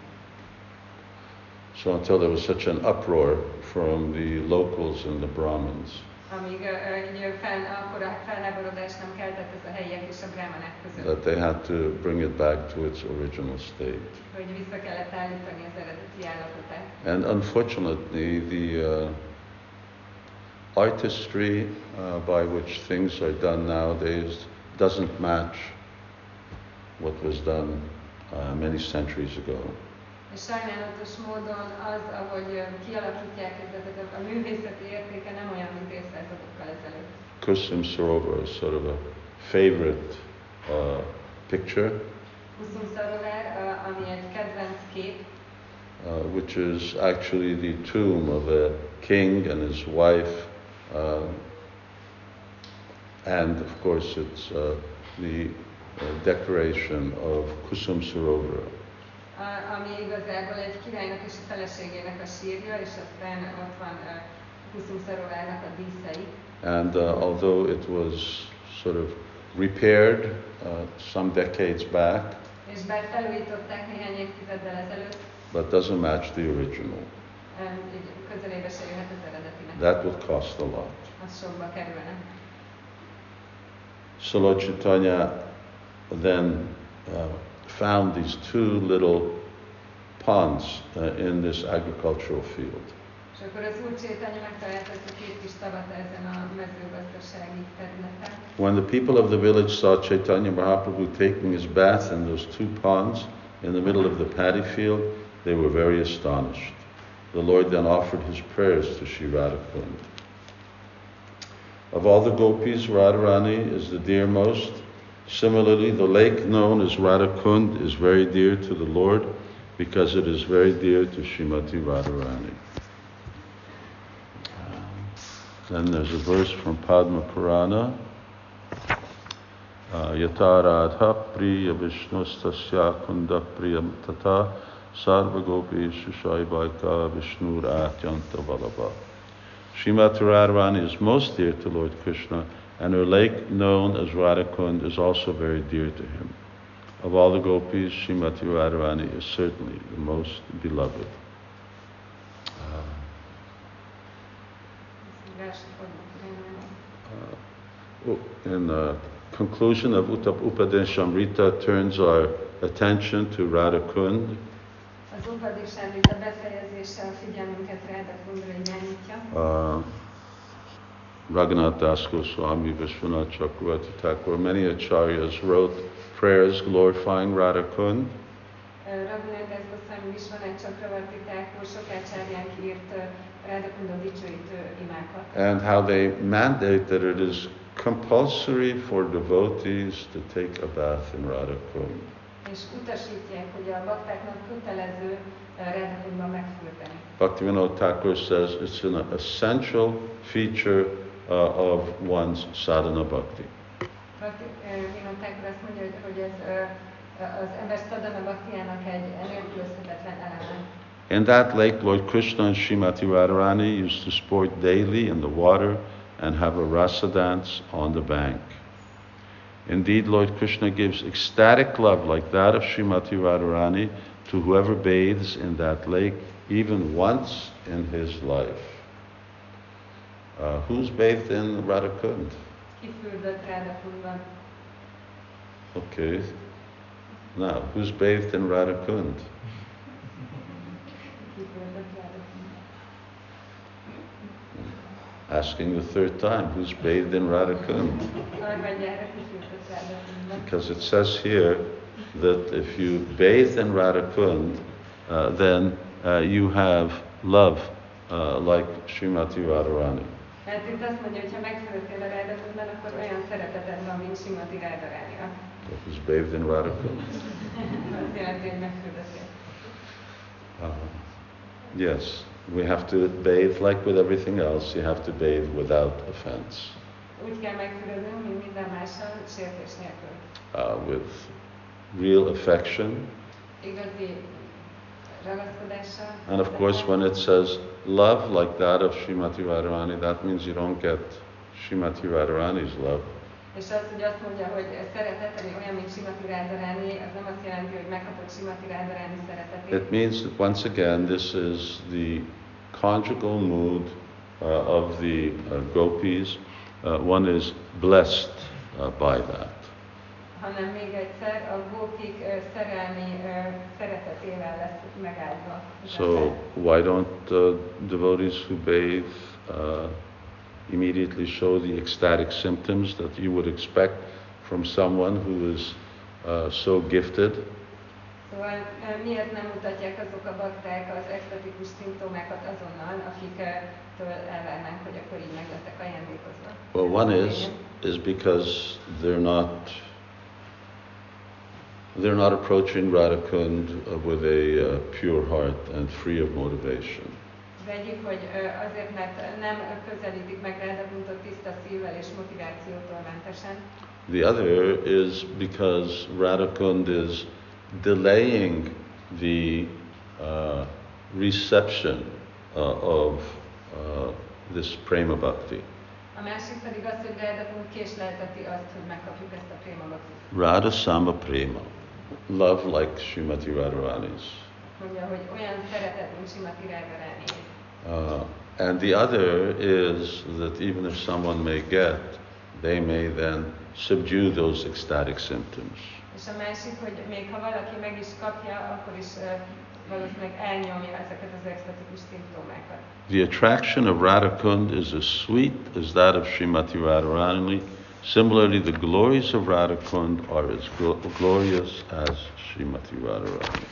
So until there was such an uproar from the locals and the Brahmins. Amíg akkora felháborodást nem keltett ez a helyiek és a brámanák között. That they had to bring it back to its original state. Hogy vissza kellett állítani az eredeti állapotát. And unfortunately, the artistry by which things are done nowadays doesn't match what was done many centuries ago. És sajnálatos módon az, ahogy kialakítják ezeket, a művészeti értéke nem olyan, mint évszázadokkal ezelőtt. Kusum Sarovar is sort of a favorite picture. Kusum Sarovar, ami egy kedvenc kép. Which is actually the tomb of a king and his wife, and of course it's the decoration of Kusum Sarovar. Ami igazából egy királynak és a feleségének a sírja, és aztán ott van Kusum Sarovarnak a díszei. And although it was sort of repaired some decades back, és bár felújították néhány évtizeddel ezelőtt, but doesn't match the original. Közelébe se jöhet az eredetinek. That would cost a lot. Az sokba kerülne. So Lord Chaitanya then found these two little ponds in this agricultural field. És És akkor az Úr Csétanya megtalált ezt a két kis tavat ezen a mezőgazdasági területen. When the people of the village saw Chaitanya Mahaprabhu taking his bath in those two ponds in the middle of the paddy field, they were very astonished. The Lord then offered his prayers to Sri Radhakund. Of all the gopis, Radharani is the dearmost. Similarly, the lake known as Radhakund is very dear to the Lord because it is very dear to Srimati Radharani. Then there's a verse from Padma Purana. Yata Radha Priya Vishnustasya Kunda Priyam Tata Sarva Gopi Shishaivaika Vishnur Atyanta Valabha. Srimati Radharani is most dear to Lord Krishna, and her lake known as Radhakund is also very dear to him. Of all the gopis, Srimati Radharani is certainly the most beloved. In the conclusion of Upadeshamrita turns our attention to Radhakund. Az Upadeshamrita befejezése a figyelmünket Radhakundra irányítja. Raghunath Das Goswami, Vishwanath Chakravarti Thakur, many acharyas wrote prayers glorifying Radhakund. Raghunath Das Goswami, Vishwanath Chakravarti Thakur sok ácsáryánk írt Radhakunda dicsőítő imákat. And how they mandate that it is compulsory for devotees to take a bath in Radhakund. És utasítják, hogy a baktáknak kötelező Radhakundban megfürdeni. Bhaktivinoda Thakur says it's an essential feature of one's sadhana bhakti. Bhaktivinoda Thakur azt mondja, hogy ez az ember sadhana bhaktiának egy nélkülözhetetlen eleme. In that lake, Lord Krishna and Srimati Radharani used to sport daily in the water and have a rasa dance on the bank. Indeed, Lord Krishna gives ecstatic love like that of Srimati Radharani to whoever bathes in that lake, even once in his life. Who's bathed in Radhakund? Ki fürdött Radhakundban? Okay. Now, who's bathed in Radhakund? Ki fürdött Radhakundban? Asking the third time, who's bathed in Radhakund? Harmadjára ki fürdött Radhakundban? Because it says here that if you bathe in Radhakund, then you have love like Srimati Radharani. Hát itt azt mondja, hogy ha megfürdöttél a Radhakundban, akkor olyan szereteted van, mint Srimati Radharaninak. Who's bathed in Radhakund? Azt jelenti, hogy megfürdöttél. Yes, we have to bathe like with everything else. You have to bathe without offense. Úgy kell megfürdöznünk, mint minden mással, sértés nélkül. With real affection. Igazi ragaszkodással. And of course, when it says love like that of Srimati Radharani, that means you don't get Srimati Radharani's love. És az, hogy azt mondja, hogy szeretet, ami olyan, mint Srimati Radharani, az nem azt jelenti, hogy megkapod Srimati Radharani szeretetét. It means that once again, this is the conjugal mood of the gopis. One is blessed by that. Hanem még egyszer, a gópik szerelmi szeretetével lesz megáldva. So why don't devotees who bathe immediately show the ecstatic symptoms that you would expect from someone who is so gifted? Szóval miért nem mutatják azok a bakták az extatikus szimptomákat azonnal, akiktől elvárnánk, hogy akkor így meg lettek ajándékozva? Well, one is because they're not approaching Radhakund with a pure heart and free of motivation. Az egyik, hogy azért, mert nem közelítik meg Radhakundot tiszta szívvel és motivációtól mentesen. The other is because Radhakund is delaying the reception of this prema bhakti. A másik pedig az, hogy Radhakund késlelteti azt, hogy megkapjuk ezt a prema bhaktit. Radha Sama Prema, love like Srimati Radharani's. Mondja, hogy olyan szeretet, mint Srimati Radharani. And the other is that even if someone may get, they may then subdue those ecstatic symptoms. És a másik, hogy még ha valaki meg is kapja, akkor is valószínűleg elnyomja ezeket az extatikus szimptomákat. The attraction of Radha Kund is as sweet as that of Srimati Radharani. Similarly, the glories of Radha Kund are as glorious as Srimati Radharani.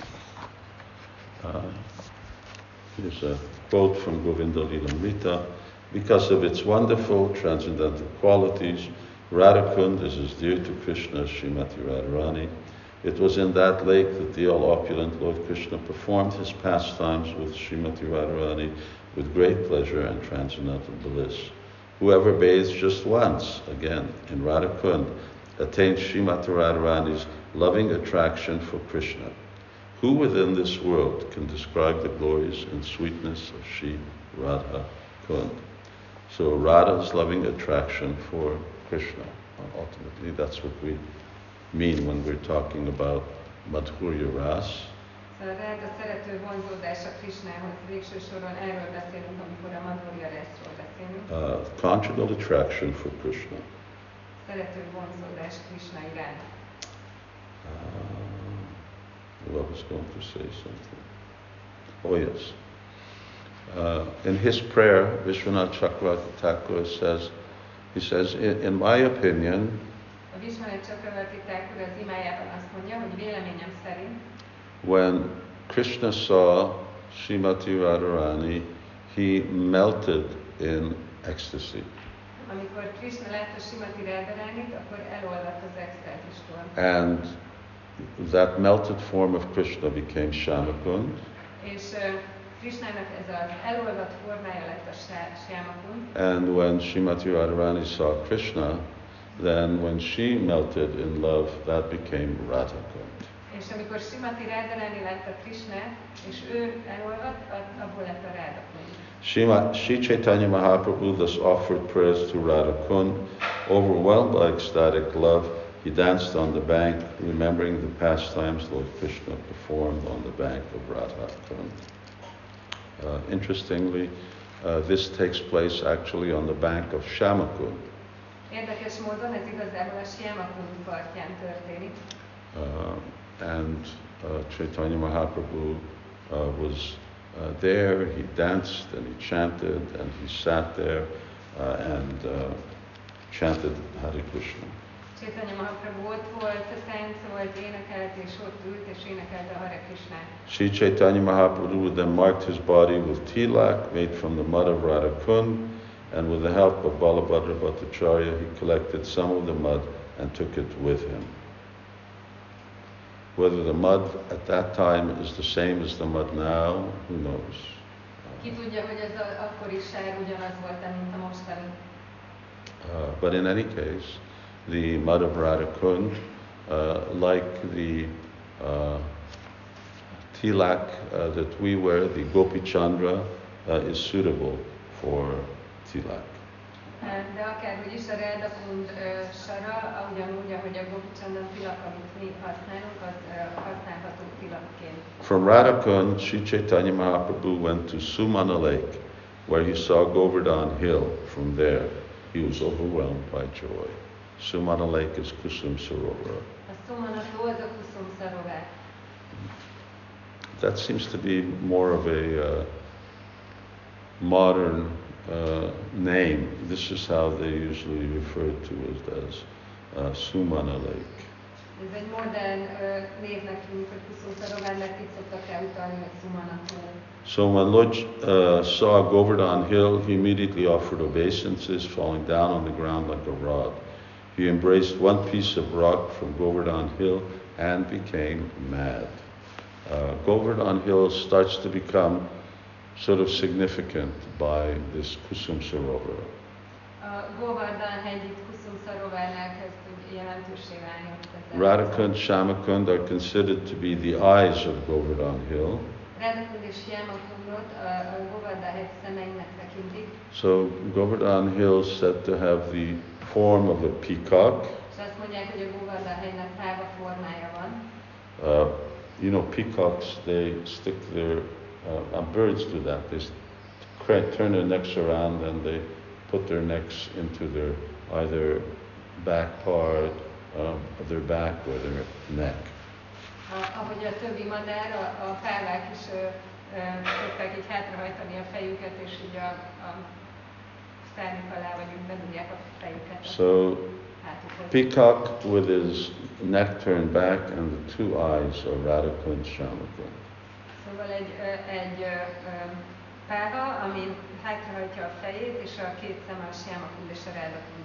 Here's a quote from Govinda Lilamrita. Because of its wonderful transcendental qualities, Radha Kund is as dear to Krishna as Srimati Radharani. It was in that lake that the all-opulent Lord Krishna performed his pastimes with Srimati Radharani with great pleasure and transcendental bliss. Whoever bathes just once, again, in Radha Kund, attains Srimati Radharani's loving attraction for Krishna. Who within this world can describe the glories and sweetness of Sri Radha Kund? So Radha's loving attraction for Krishna. Ultimately, that's what we mean when we're talking about Madhurya Ras. Szóval a Ráda szerető vonzódása Krishnához, végső soron erről beszélünk, amikor a Madhurya Rasról beszélünk. Conjugal attraction for Krishna. Szerető vonzódás Krishna iránt. I was going to say something. Oh yes. In his prayer, Vishwanath Chakravarti Thakur says, in my opinion, A Vishwanath Chakravarti Thakur az imájában azt mondja, hogy véleményem szerint, when Krishna saw Srimati Radharani, he melted in ecstasy. amikor Krishna látta Srimati Radharanit, akkor elolvadt az extázistól. And that melted form of Krishna became Shyamakund. És Krishnának ez az elolvadt formája lett a Shyamakund. And when Srimati Radharani saw Krishna, then when she melted in love, that became Radhakund. És amikor Srimati Radharani látta Krishnát, és ő elolvadt, abból lett a Radhakund. Sri Chaitanya Mahaprabhu thus offered prayers to Radhakund. Overwhelmed by ecstatic love, he danced on the bank, remembering the pastimes Lord Krishna performed on the bank of Radhakund. Interestingly, this takes place actually on the bank of Shyamakund. Érdekes módon ez igazából a Shyamakund partján történik. And Chaitanya Mahaprabhu was there, he danced and he chanted and he sat there and chanted Hare Krishna. Chaitanya Mahaprabhu ott volt, táncolt, énekelt, és ott ült, és énekelte a Hare Krishnát. Sri Chaitanya Mahaprabhu then marked his body with tilak made from the mud of Radhakund, and with the help of Balabhadra Bhattacharya, he collected some of the mud and took it with him. Whether the mud at that time is the same as the mud now, who knows? Ki tudja, hogy ez az akkori sár ugyanaz volt, mint a mostani. But in any case, the mud of Radhakund, like the tilak that we wear, the Gopi Chandra, is suitable for tilak. De akárhogy is a Radhakund sara, ugyanúgy, ahogy a Gopi Chandra tilak, amit mi használunk, az használható tilakként. From Radhakund, Sri Chaitanya Mahaprabhu went to Sumana Lake, where he saw Govardhan Hill. From there, he was overwhelmed by joy. Sumana Lake is Kusum Sarovar. A Sumana tó az a Kusum Sarovar. That seems to be more of a modern name. This is how they usually refer to it as Sumana Lake. Ez egy modern névnek tűnik, hogy Kusum Sarovar, mert itt szoktak elutalni, hogy Sumana tó. So when Lord saw Govardhan Hill, he immediately offered obeisances, falling down on the ground like a rod. He embraced one piece of rock from Govardhan Hill and became mad. Govardhan Hill starts to become sort of significant by this Kusum Sarovar. Govardhan hegy itt Kusum Sarovarnál kezd jelentőssé válni. Radhakund, Shyamakund are considered to be the eyes of Govardhan Hill. Radhakund és Shyamakundot a Govardhan hegy szemeinek tekintik. So Govardhan Hill is said to have the form of a peacock. És azt mondják, hogy a Govardhan hegynek páva formája van. You know, peacocks, they stick their, birds do that. They turn their necks around and they put their necks into their either back part of their back or their neck. Ahogy a többi madár, a párvák is szokták így hátrahajtani a fejüket, és így a szárnyuk alá, vagy úgy bedugják a fejüket. So, peacock with his neck turned back and the two eyes are Radhika and Shamaka. Szóval egy pálva, ami hátrahajtja a fejét, és a két szeme a Syamakund és a Radhakund.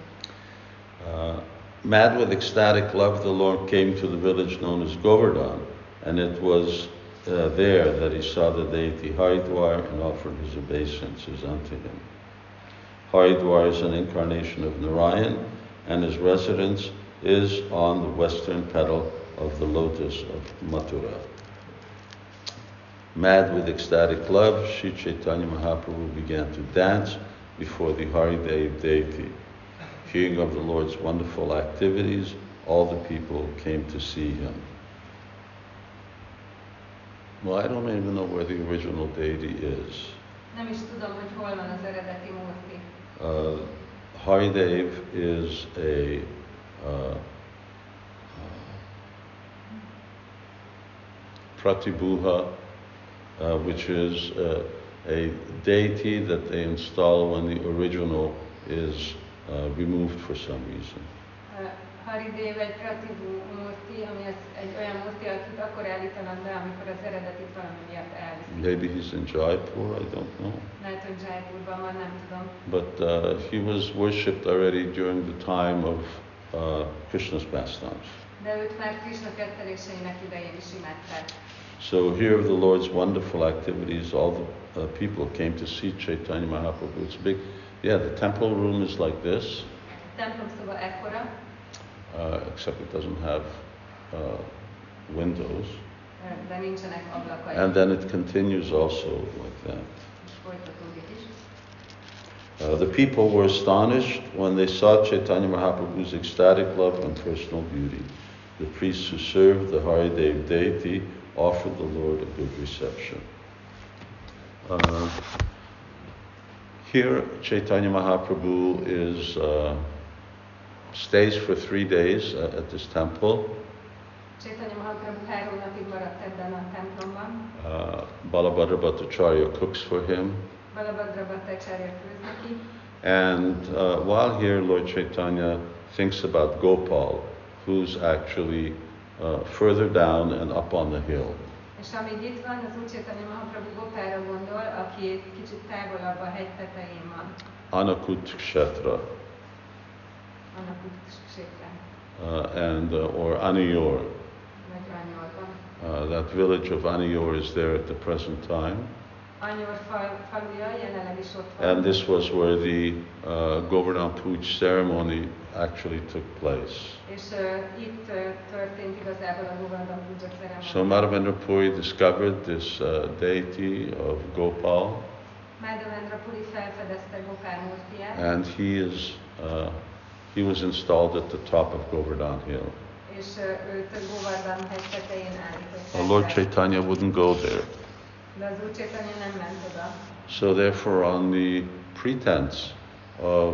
Mad with ecstatic love, the Lord came to the village known as Govardhan, and it was there that he saw the deity Haridwar and offered his obeisances unto him. Haridwar is an incarnation of Narayan, and his residence is on the western petal of the lotus of Mathura. Mad with ecstatic love, Sri Chaitanya Mahaprabhu began to dance before the Haridev deity. Hearing of the Lord's wonderful activities, all the people came to see him. Well, I don't even know where the original deity is. Nem is tudom, hogy hol van az eredeti murti. Haridev is a Pratibhuha, which is a deity that they install when the original is removed for some reason. Haridev egy Pratibhu murti, ami egy olyan murti, akit akkor állítanak be, amikor az eredetit valami miatt elviszik. Maybe he's in Jaipur, I don't know. Lehet, hogy Jaipurban van, nem tudom. But he was worshipped already during the time of Krishna's pastimes. De őt már Krishna ketteléseinek idején is imádták. So here the Lord's wonderful activities, all the people came to see Chaitanya Mahaprabhu. It's big. Yeah, the temple room is like this. Templom szoba ekkora. Except it doesn't have windows. De nincsenek ablakai. And then it continues also like that. És folytatódik is. The people were astonished when they saw Chaitanya Mahaprabhu's ecstatic love and personal beauty. The priests who served the Haridev deity offered the Lord a good reception. Here, Chaitanya Mahaprabhu stays for 3 days at this temple. Chaitanya Mahaprabhu 3 napig maradt ebben a templomban. Balabhadra Bhattacharya cooks for him. Balabhadra Bhattacharya főz neki. And while here, Lord Chaitanya thinks about Gopal, who's actually further down and up on the hill. És amíg itt van, az Úr Chaitanya Mahaprabhu Gopalra gondol, aki kicsit távolabb a hegy tetején van. Anakut Kshetra. Anakut Kshetra. Or Aniyor. Vagy Anyorban. That village of Aniyor is there at the present time. Anyor faluja jelenleg is ott van. And this was where the Govardhan Puja ceremony actually took place. És itt történt igazából a Govardhan Puja ceremony. So Madhavendra Puri discovered this deity of Gopal. Madhavendra Puri felfedezte Gopal murtiját. And he was installed at the top of Govardhan Hill. És őt Govardhan hegy tetején állították. Lord Chaitanya wouldn't go there. De az Úr Chaitanya nem ment oda. So therefore, on the pretense of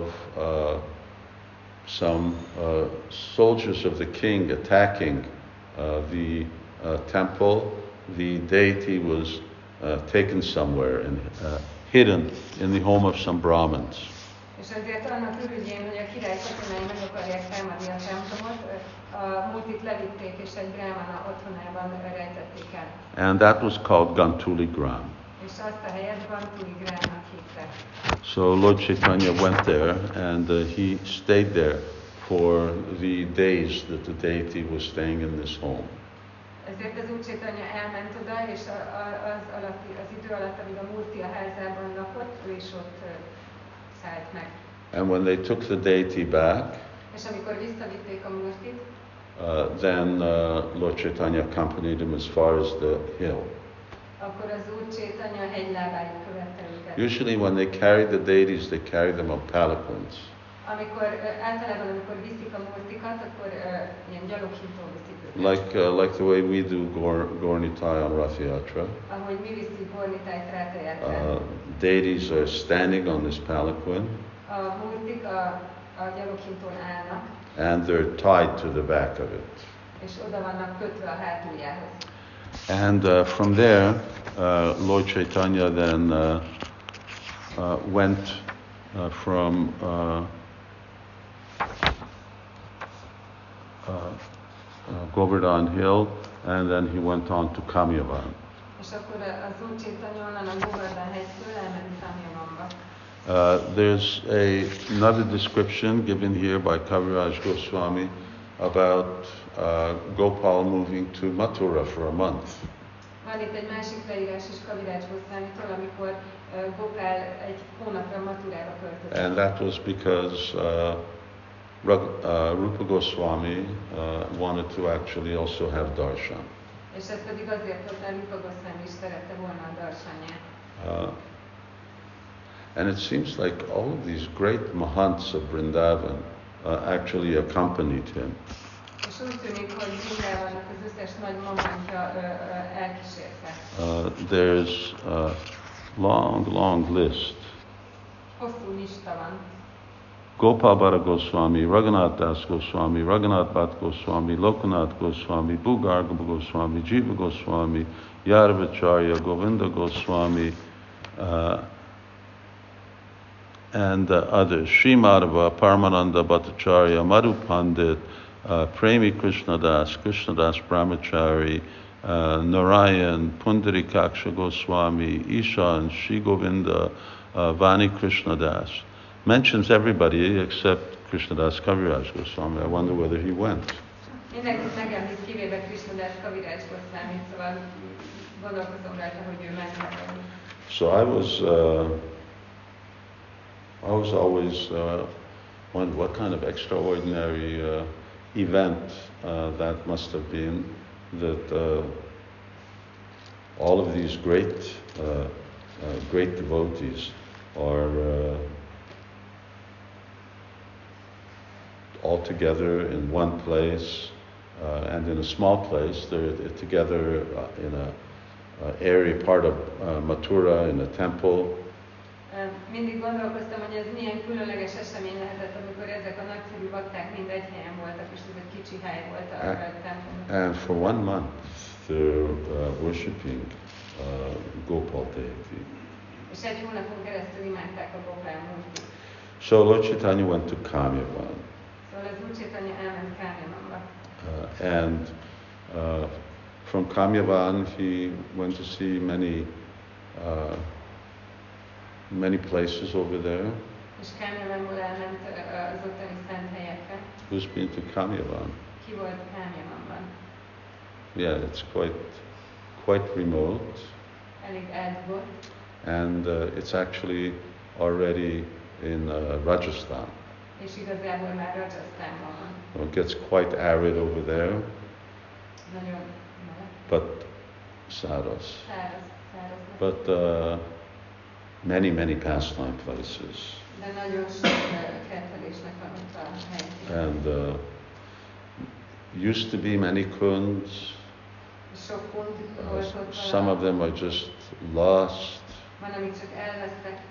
some soldiers of the king attacking the temple, the deity was taken somewhere and hidden in the home of some Brahmins. És ezért annak ürügyén, hogy a király katonái meg akarják támadni a templomot, a multit levitték és egy brahmana otthonában rejtették el. And that was called Gantuli Gram. És azt a helyet Gantuli Gramnak hívták. So Lord Chaitanya went there and he stayed there for the days that the deity was staying in this home. Ezért az Úr Chaitanya elment oda, és az idő alatt, amíg a murti a házában lakott, ő is ott szállt meg. And when they took the deity back, és amikor visszavitték a murtit, then Lord Chaitanya accompanied him as far as the hill. Akkor az Úr Chaitanya hegylábáig követte őket. Usually when they carry the deities, they carry them on palanquins. Általában amikor viszik a murtikat, akkor ilyen gyaloghintón viszik őket. Like the way we do Gornitai on Rath Yatra. Ahogy mi visszük Gornitájt Rátha Deities are standing on this palanquin. A murtik a gyaloghintón állnak. And they're tied to the back of it. és oda vannak kötve a hátuljához. And from there, Lord Chaitanya then went from Govardhan Hill, and then he went on to Kamyavan. És akkor az Úr Chaitanya onnan a Govardhan hegytől elment Kamyavanba. There's another description given here by Kaviraj Goswami about Gopal moving to Mathura for a month. Van itt egy másik leírás is Kaviraj Goswamitól, amikor Gopál egy hónapra Mathurába költözött. And that was because Rupa Goswami wanted to actually also have darshan. És ez pedig azért volt, mert Rupa Goswami is szerette volna a darsanyát. And it seems like all of these great mahants of Vrindavan actually accompanied him. És úgy tűnik, hogy Vrindavannak az összes nagy mamantja elkísérte. There's a long list. Hosszú lista van. Gopal Bhatta Goswami, Raghunath Das Goswami, Raghunath Bhatt Goswami, Lokanath Goswami, Bhugarga Goswami, Jiva Goswami, Yadavacharya, Govinda Goswami, and others. Sri Madhava, Paramananda Bhattacharya, Madhu Pandit, Premi Krishnadas, Krishnadas Brahmachari, Narayan, Pundarikaksha Goswami, Ishan, Sri Govinda, Vani Krishnadas. Mentions everybody except Krishnadas Kaviraj Goswami. I wonder whether he went. Mindenkit megemlít, kivéve Krishnadas Kaviraj Goswami, szóval gondolkozom rajta, hogy ő ment. So I was always wondering what kind of extraordinary event that must have been, that all of these great devotees are all together in one place, and in a small place. They're together in a area, part of Mathura, in a temple. Mindig gondolkoztam, hogy ez milyen különleges esemény lehetett, amikor ezek a nagyszerű bakták mind egy helyen voltak, és ez egy kicsi hely volt a templomban. And for 1 month they're worshipping Gopal deity. És egy hónapon keresztül imádták a Gopal múltit. So Lord Chaitanya went to Kamyavan. Szóval az Úr Chaitanya elment Kamyavanba. And from Kamyavan he went to see many places over there. És Kamyavanból elment az ottani szent helyekre. Who's been to Kamyavan? Ki volt Kamyavanban? Yeah, it's quite remote. Elég eldugott. And it's actually already in Rajasthan. És igazából már Rajasthanban van. It gets quite arid over there. Nagyon but száraz. Száraz. But many pastime places. De nagyon sok kettelésnek van ott a hely. And used to be many kunds. Sok kund volt ott. Some of them are just lost. Van, amik csak elvesztek.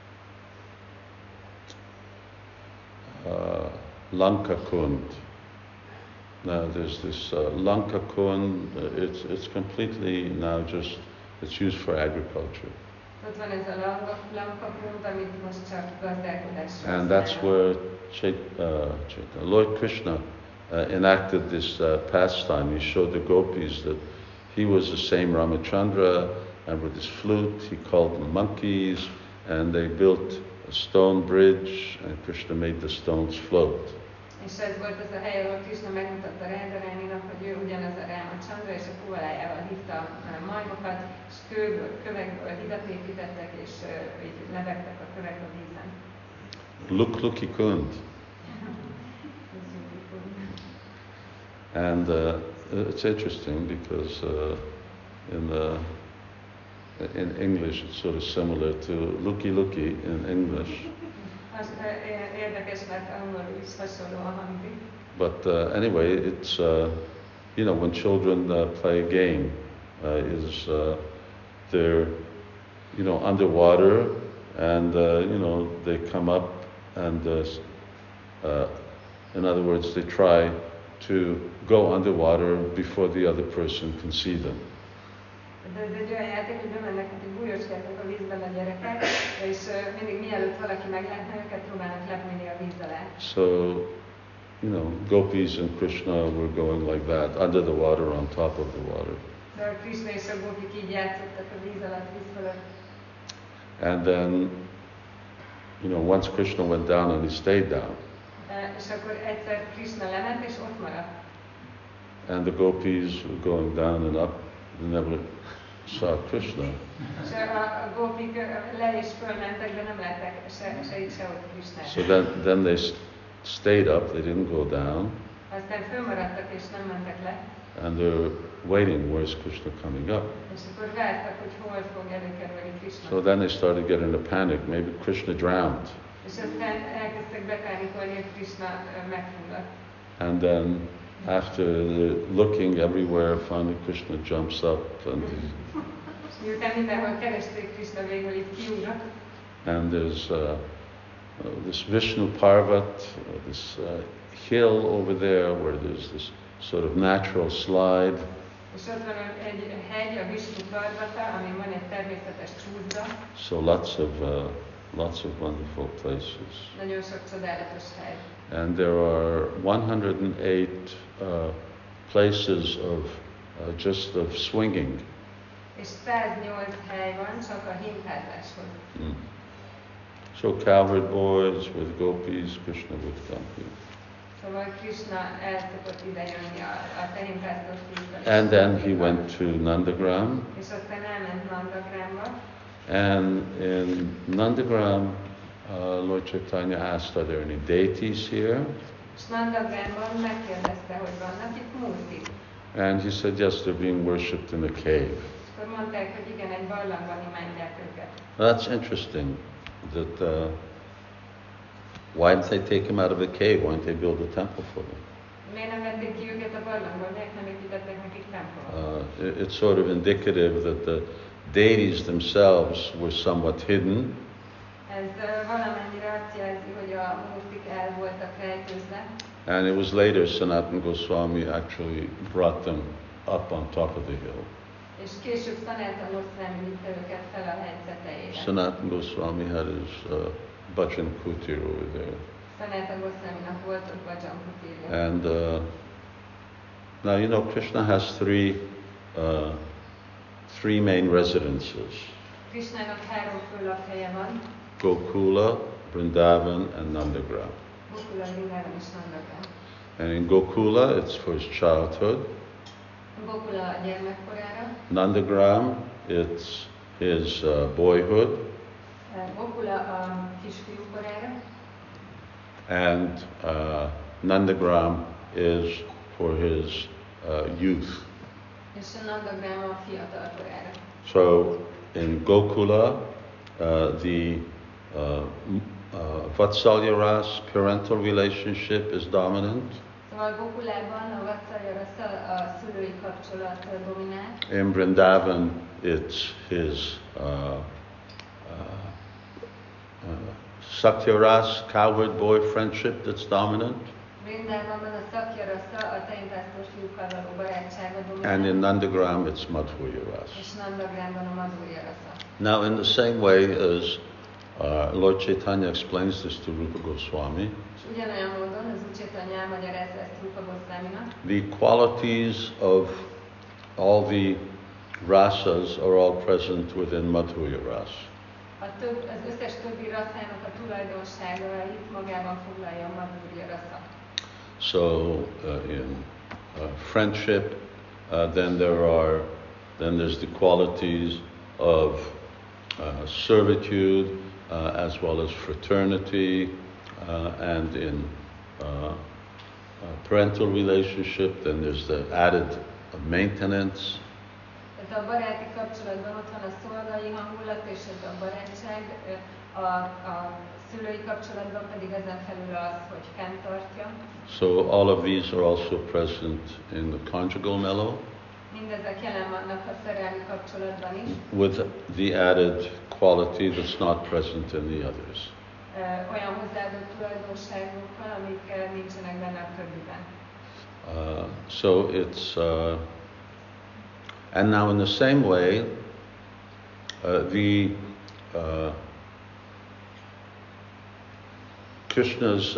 Lanka Kund. Now there's this Lanka Kund. It's completely now just it's used for agriculture. Ott van ez a Lanka Kund, amit most csak gazdálkodásra. And that's where Lord Krishna enacted this pastime. He showed the gopis that he was the same Ramachandra, and with his flute he called them monkeys, and they built a stone bridge, and Krishna made the stones float. És ez volt az a hely, ahol Krishna megmutatta Radharaninak, hogy ő ugyanaz a Ramachandra, és a kuvalájával hívta a majmokat, és kövekből hidat építettek, és így lebegtek a kövek a vízen. Luki Kund. And it's interesting because in English it's sort of similar to Luki in English. Érdekes, mert angolul is hasonló a hangzik. But anyway, it's when children play a game, they're underwater, and they come up, and in other words, they try to go underwater before the other person can see them. De ez egy olyan játék, hogy bemennek, mint egy bújóskáknak a vízben a gyerekek, és mindig mielőtt valaki meglátna őket, próbálnak lepni a víz alá. So, gopis and Krishna were going like that, under the water, on top of the water. Szóval Krishna és a gópik így játszottak a víz alatt, víz fölött. And then, once Krishna went down and he stayed down. És akkor egyszer Krishna lement, és ott maradt. And the gopis were going down and up, they never saw Krishna. És a gópik le és fölmentek, de nem látták se itt, se ott Krishnát. So then they stayed up, they didn't go down. Aztán fölmaradtak és nem mentek le. And they're waiting, where's Krishna coming up? És akkor vártak, hogy hol fog előkerülni Krishna. So then they started getting a panic, maybe Krishna drowned. És aztán elkezdtek bepánikolni, hogy Krishna megfulladt. And then after looking everywhere, finally Krishna jumps up and Miután mindenhol keresték, Krishna végül itt kiugrott. and there's this Vishnu Parvat, this hill over there where there's this sort of natural slide. És ott van egy hegy, a Vishnu Parvata, amin van egy természetes csúszda. So lots of wonderful places. Nagyon sok csodálatos hely. And there are 108 places of just of swinging. És 108 hely van csak a hintázáshoz. Mm. So cowherd boys with gopis, Krishna would come here. Szóval Krishna el szokott ide jönni a tehintázatos vízbe. And then he went to Nandagram. És aztán elment Nandagramba. And in Nandagram, Lord Chaitanya asked, are there any deities here? És Nandagramban megkérdezte, hogy vannak itt múltik. And he said, yes, they're being worshipped in a cave. És akkor mondták, hogy igen, egy barlangban imádják őket. That's interesting. That why didn't they take him out of the cave? Why didn't they build a temple for them? Miért nem vették ki őket a barlangból? Miért nem építettek nekik templomot? It's sort of indicative that the deities themselves were somewhat hidden. Ez valamennyire azt jelzi, hogy a múltik el voltak rejtőzve. And it was later Sanatana Goswami actually brought them up on top of the hill. És később Sanatana Goswami vitte őket fel a hegy tetejére. Sanatana Goswami had his bhajan kutir over there. Sanatana Goswaminak volt ott bhajan kutirja. And now Krishna has three main residences. Krishnának 3 fő lakhelye van. Gokula, Vrindavan, and Nandagram. Gokula, Vrindavan és Nandagram. And in Gokula, it's for his childhood. Gokula a gyermekkorára. Nandagram, it's his boyhood. Gokula a kisfiú korára. And Nandagram is for his youth. És a Nandagram a fiatal korára. So in Gokula, the Vatsalya ras, parental relationship, is dominant. Szóval Gokulában a Vatsalya rasa, a szülői kapcsolat dominál. In Vrindavan, it's his Sakya ras, cowherd boy friendship that's dominant. Vrindavanban a Sakya rasa, a tehintásztos fiúkkal való barátsága dominál. And in Nandagram, it's Madhurya ras. És Nandagramban a Madhurya rasa. Now, in the same way as Lord Chaitanya explains this to Rupa Goswami, És ugyanolyan módon az Úr Chaitanya elmagyarázza ezt Rupa Goswaminak. the qualities of all the rasas are all present within Madhurya ras. Az összes többi raszának a tulajdonságait magában foglalja a Madhurya rasa. So in friendship, then there's the qualities of servitude as well as fraternity, and in parental relationship, then there's the added maintenance. Tehát a baráti kapcsolatban ott van a szolgai hangulat és ez a barátság, a szülői kapcsolatban pedig ezen felül az, hogy fenntartja. So all of these are also present in the conjugal mellow, Mindezek jelen vannak a szerelmi kapcsolatban is, with the added quality that's not present in the others. Olyan hozzáadott tulajdonságokkal, amik nincsenek benne a többiben. So it's, and now in the same way, Krishna's,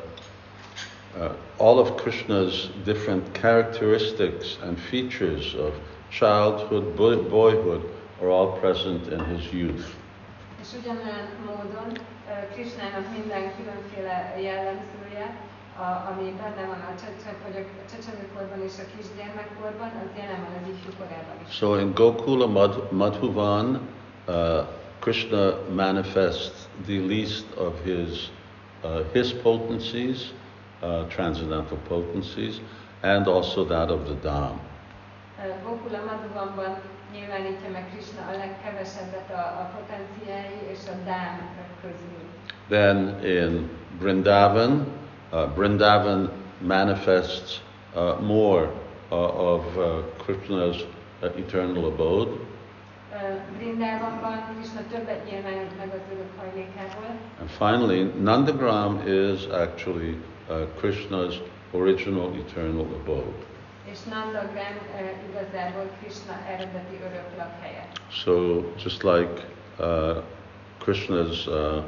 all of Krishna's different characteristics and features of childhood, boyhood are all present in his youth. És ugyanolyan módon Krishnának minden különféle jellemzője, ami benne van a csecsemőkorban és a kisgyermekkorban, az jelen van az ifjú korában is. So in Gokula Madhuvan, Krishna manifests the least of his potencies, transcendental potencies, and also that of the Dham. Gokula Madhuvanban nyilvánítja meg Krishna a legkevesebbet a potenciái és a Dham közül. Then in Vrindavan, Vrindavan manifests more of Krishna's eternal abode. Vrindavanban Krishna többet nyilvánít meg az örök hajlékából. And finally, Nandagram is actually Krishna's original eternal abode. És Nandagram igazából Krishna eredeti örök lakhelye. So just like Krishna's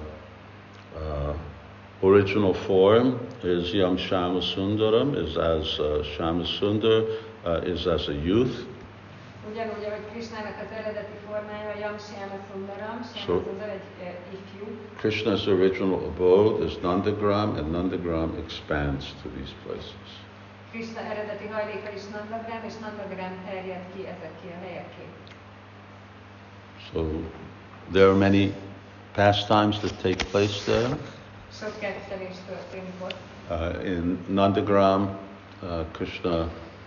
original form is Yam Shama Sundaram, is as Shama Sundar is as a youth. Ugyanúgy, ahogy Krishnának az eredeti formája Yam Shama Sundaram, Shama Sundar egy ifjú. Krishna's original abode is Nandagram, and Nandagram expands to these places. Krishna eredeti hajléka is Nandagram, és Nandagram terjed ki ezeké a helyeké. So there are many pastimes that take place there. Sok kettelés történik ott. In Nandagram, Krishna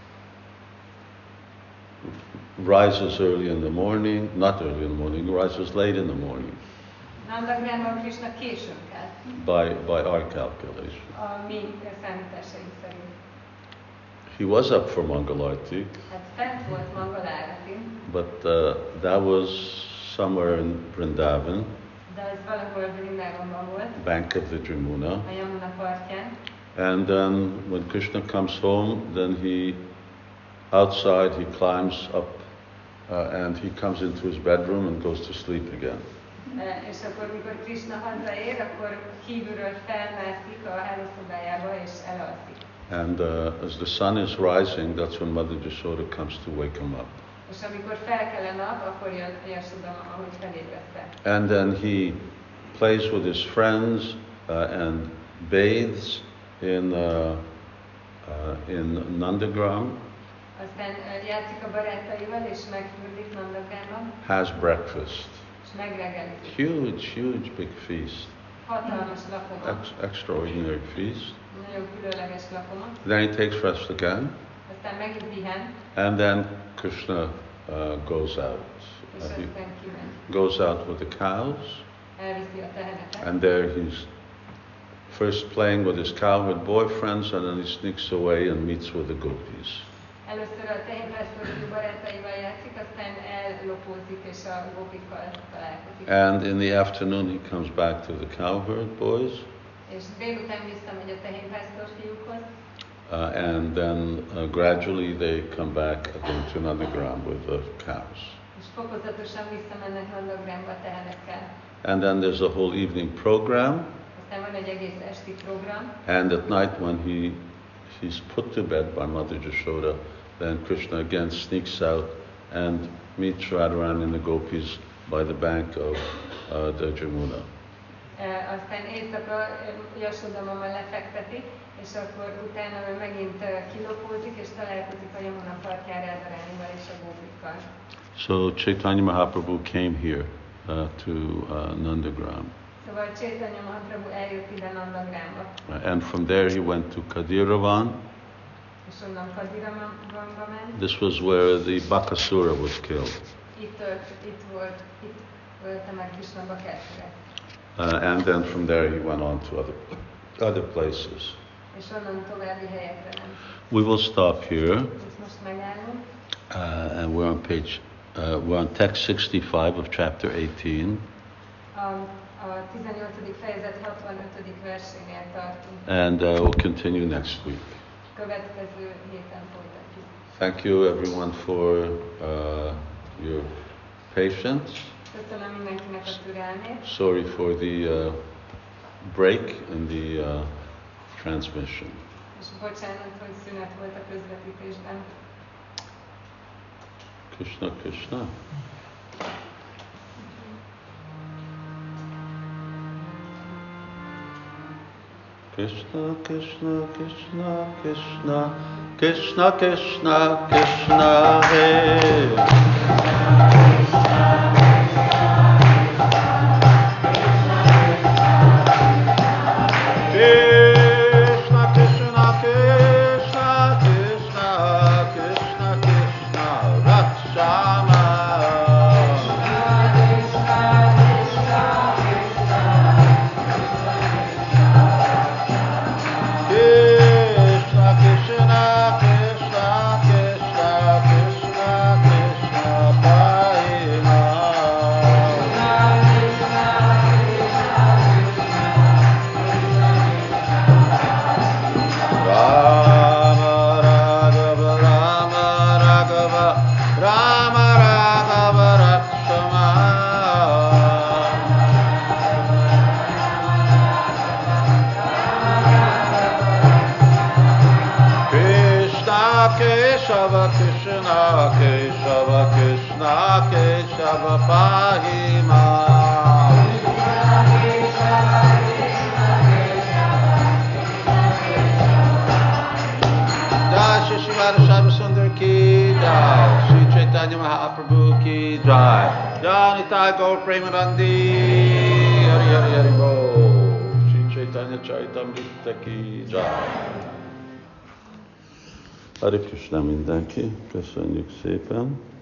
rises early in the morning, not early in the morning, rises late in the morning. Nandagramban Krishna későn kell. By our calculation. A mi számításaink szerint. He was up for Mangalarti, Hát fent volt Mangalárati, but that was somewhere in Vrindavan, de ez valahol Vrindavanban volt, bank of the Jamuna. a Yamuna partján. And then when Krishna comes home, then outside he climbs up and he comes into his bedroom and goes to sleep again. És akkor, mikor Krishna hazaér, akkor kívülről felmászik a hálószobájába és elalszik. And as the sun is rising, that's when Mother Yashoda comes to wake him up. És amikor felkel a nap, akkor jön Yashoda, ahogy felébressze. And then he plays with his friends and bathes in Nandagram. Aztán játszik a barátaival és megfürdik Nandagramban. Has breakfast. És megregelizik. Huge big feast. Hatalmas lakoma. Extraordinary feast. Nagyon különleges lakoma. Then he takes rest again. Aztán megint pihen. And then Krishna goes out. És aztán kimegy. Goes out with the cows. Elviszi a teheneket. And there he's first playing with his cowherd boyfriends, and then he sneaks away and meets with the gopis. Először a tehénpásztorú barátaival játszik, aztán ellopózik és a gópikkal találkozik. And in the afternoon he comes back to the cowherd boys. És délután visszamegy a tehénpásztor fiúkhoz. And then gradually they come back again to Nandagram with the cows. És fokozatosan visszamennek Nandagramba a tehenekkel. And then there's a whole evening program. Aztán van egy egész esti program. And at night when he's put to bed by Mother Yashoda, then Krishna again sneaks out and meets Radharani and the gopis by the bank of the Jamuna. Aztán éjszaka Yashoda mama lefekteti, és akkor utána ő megint kilopózik, és találkozik a Yamuna partján Radharanival és a gópikkal. So Chaitanya Mahaprabhu came here to Nandagram. Szóval Chaitanya Mahaprabhu eljött ide Nandagramba. And from there he went to Kadiravan. És onnan Kadiravanba ment. This was where the Bakasura was killed. Itt ölte meg Krishna Bakasurat. And then from there he went on to other places. És onnan további helyekre ment. We will stop here. Itt most megállunk. And we're on text 65 of chapter 18. A 18. fejezet 65. versénél tartunk. And we'll continue next week. következő héten folytatjuk. Thank you everyone for your patience. Köszönöm mindenkinek a türelmét. Sorry for the break in the transmission. És bocsánat, hogy szünet volt a közvetítésben. Krishna Krishna. Krishna Krishna Krishna Krishna Krishna Krishna Krishna Hare Krishna Krishna Krishna Krishna Krishna Krishna Rakshama Krishna Krishna Krishna Krishna Krishna Krishna Parima Rama Raghava Rama Raghava Rama Raghava Rakshama Krishna Keshava Krishna Keshava Krishna Keshava Pahima Jai Shri Shivara Shaiva Sundar ki Jai Shri Chaitanya Mahaprabhu ki Jai Jai Nitai Gaur Premanandi Hari Hari Hari Bol Shri Chaitanya Charitamrita ki Jai Hare Krishna mindenki, köszönjük szépen!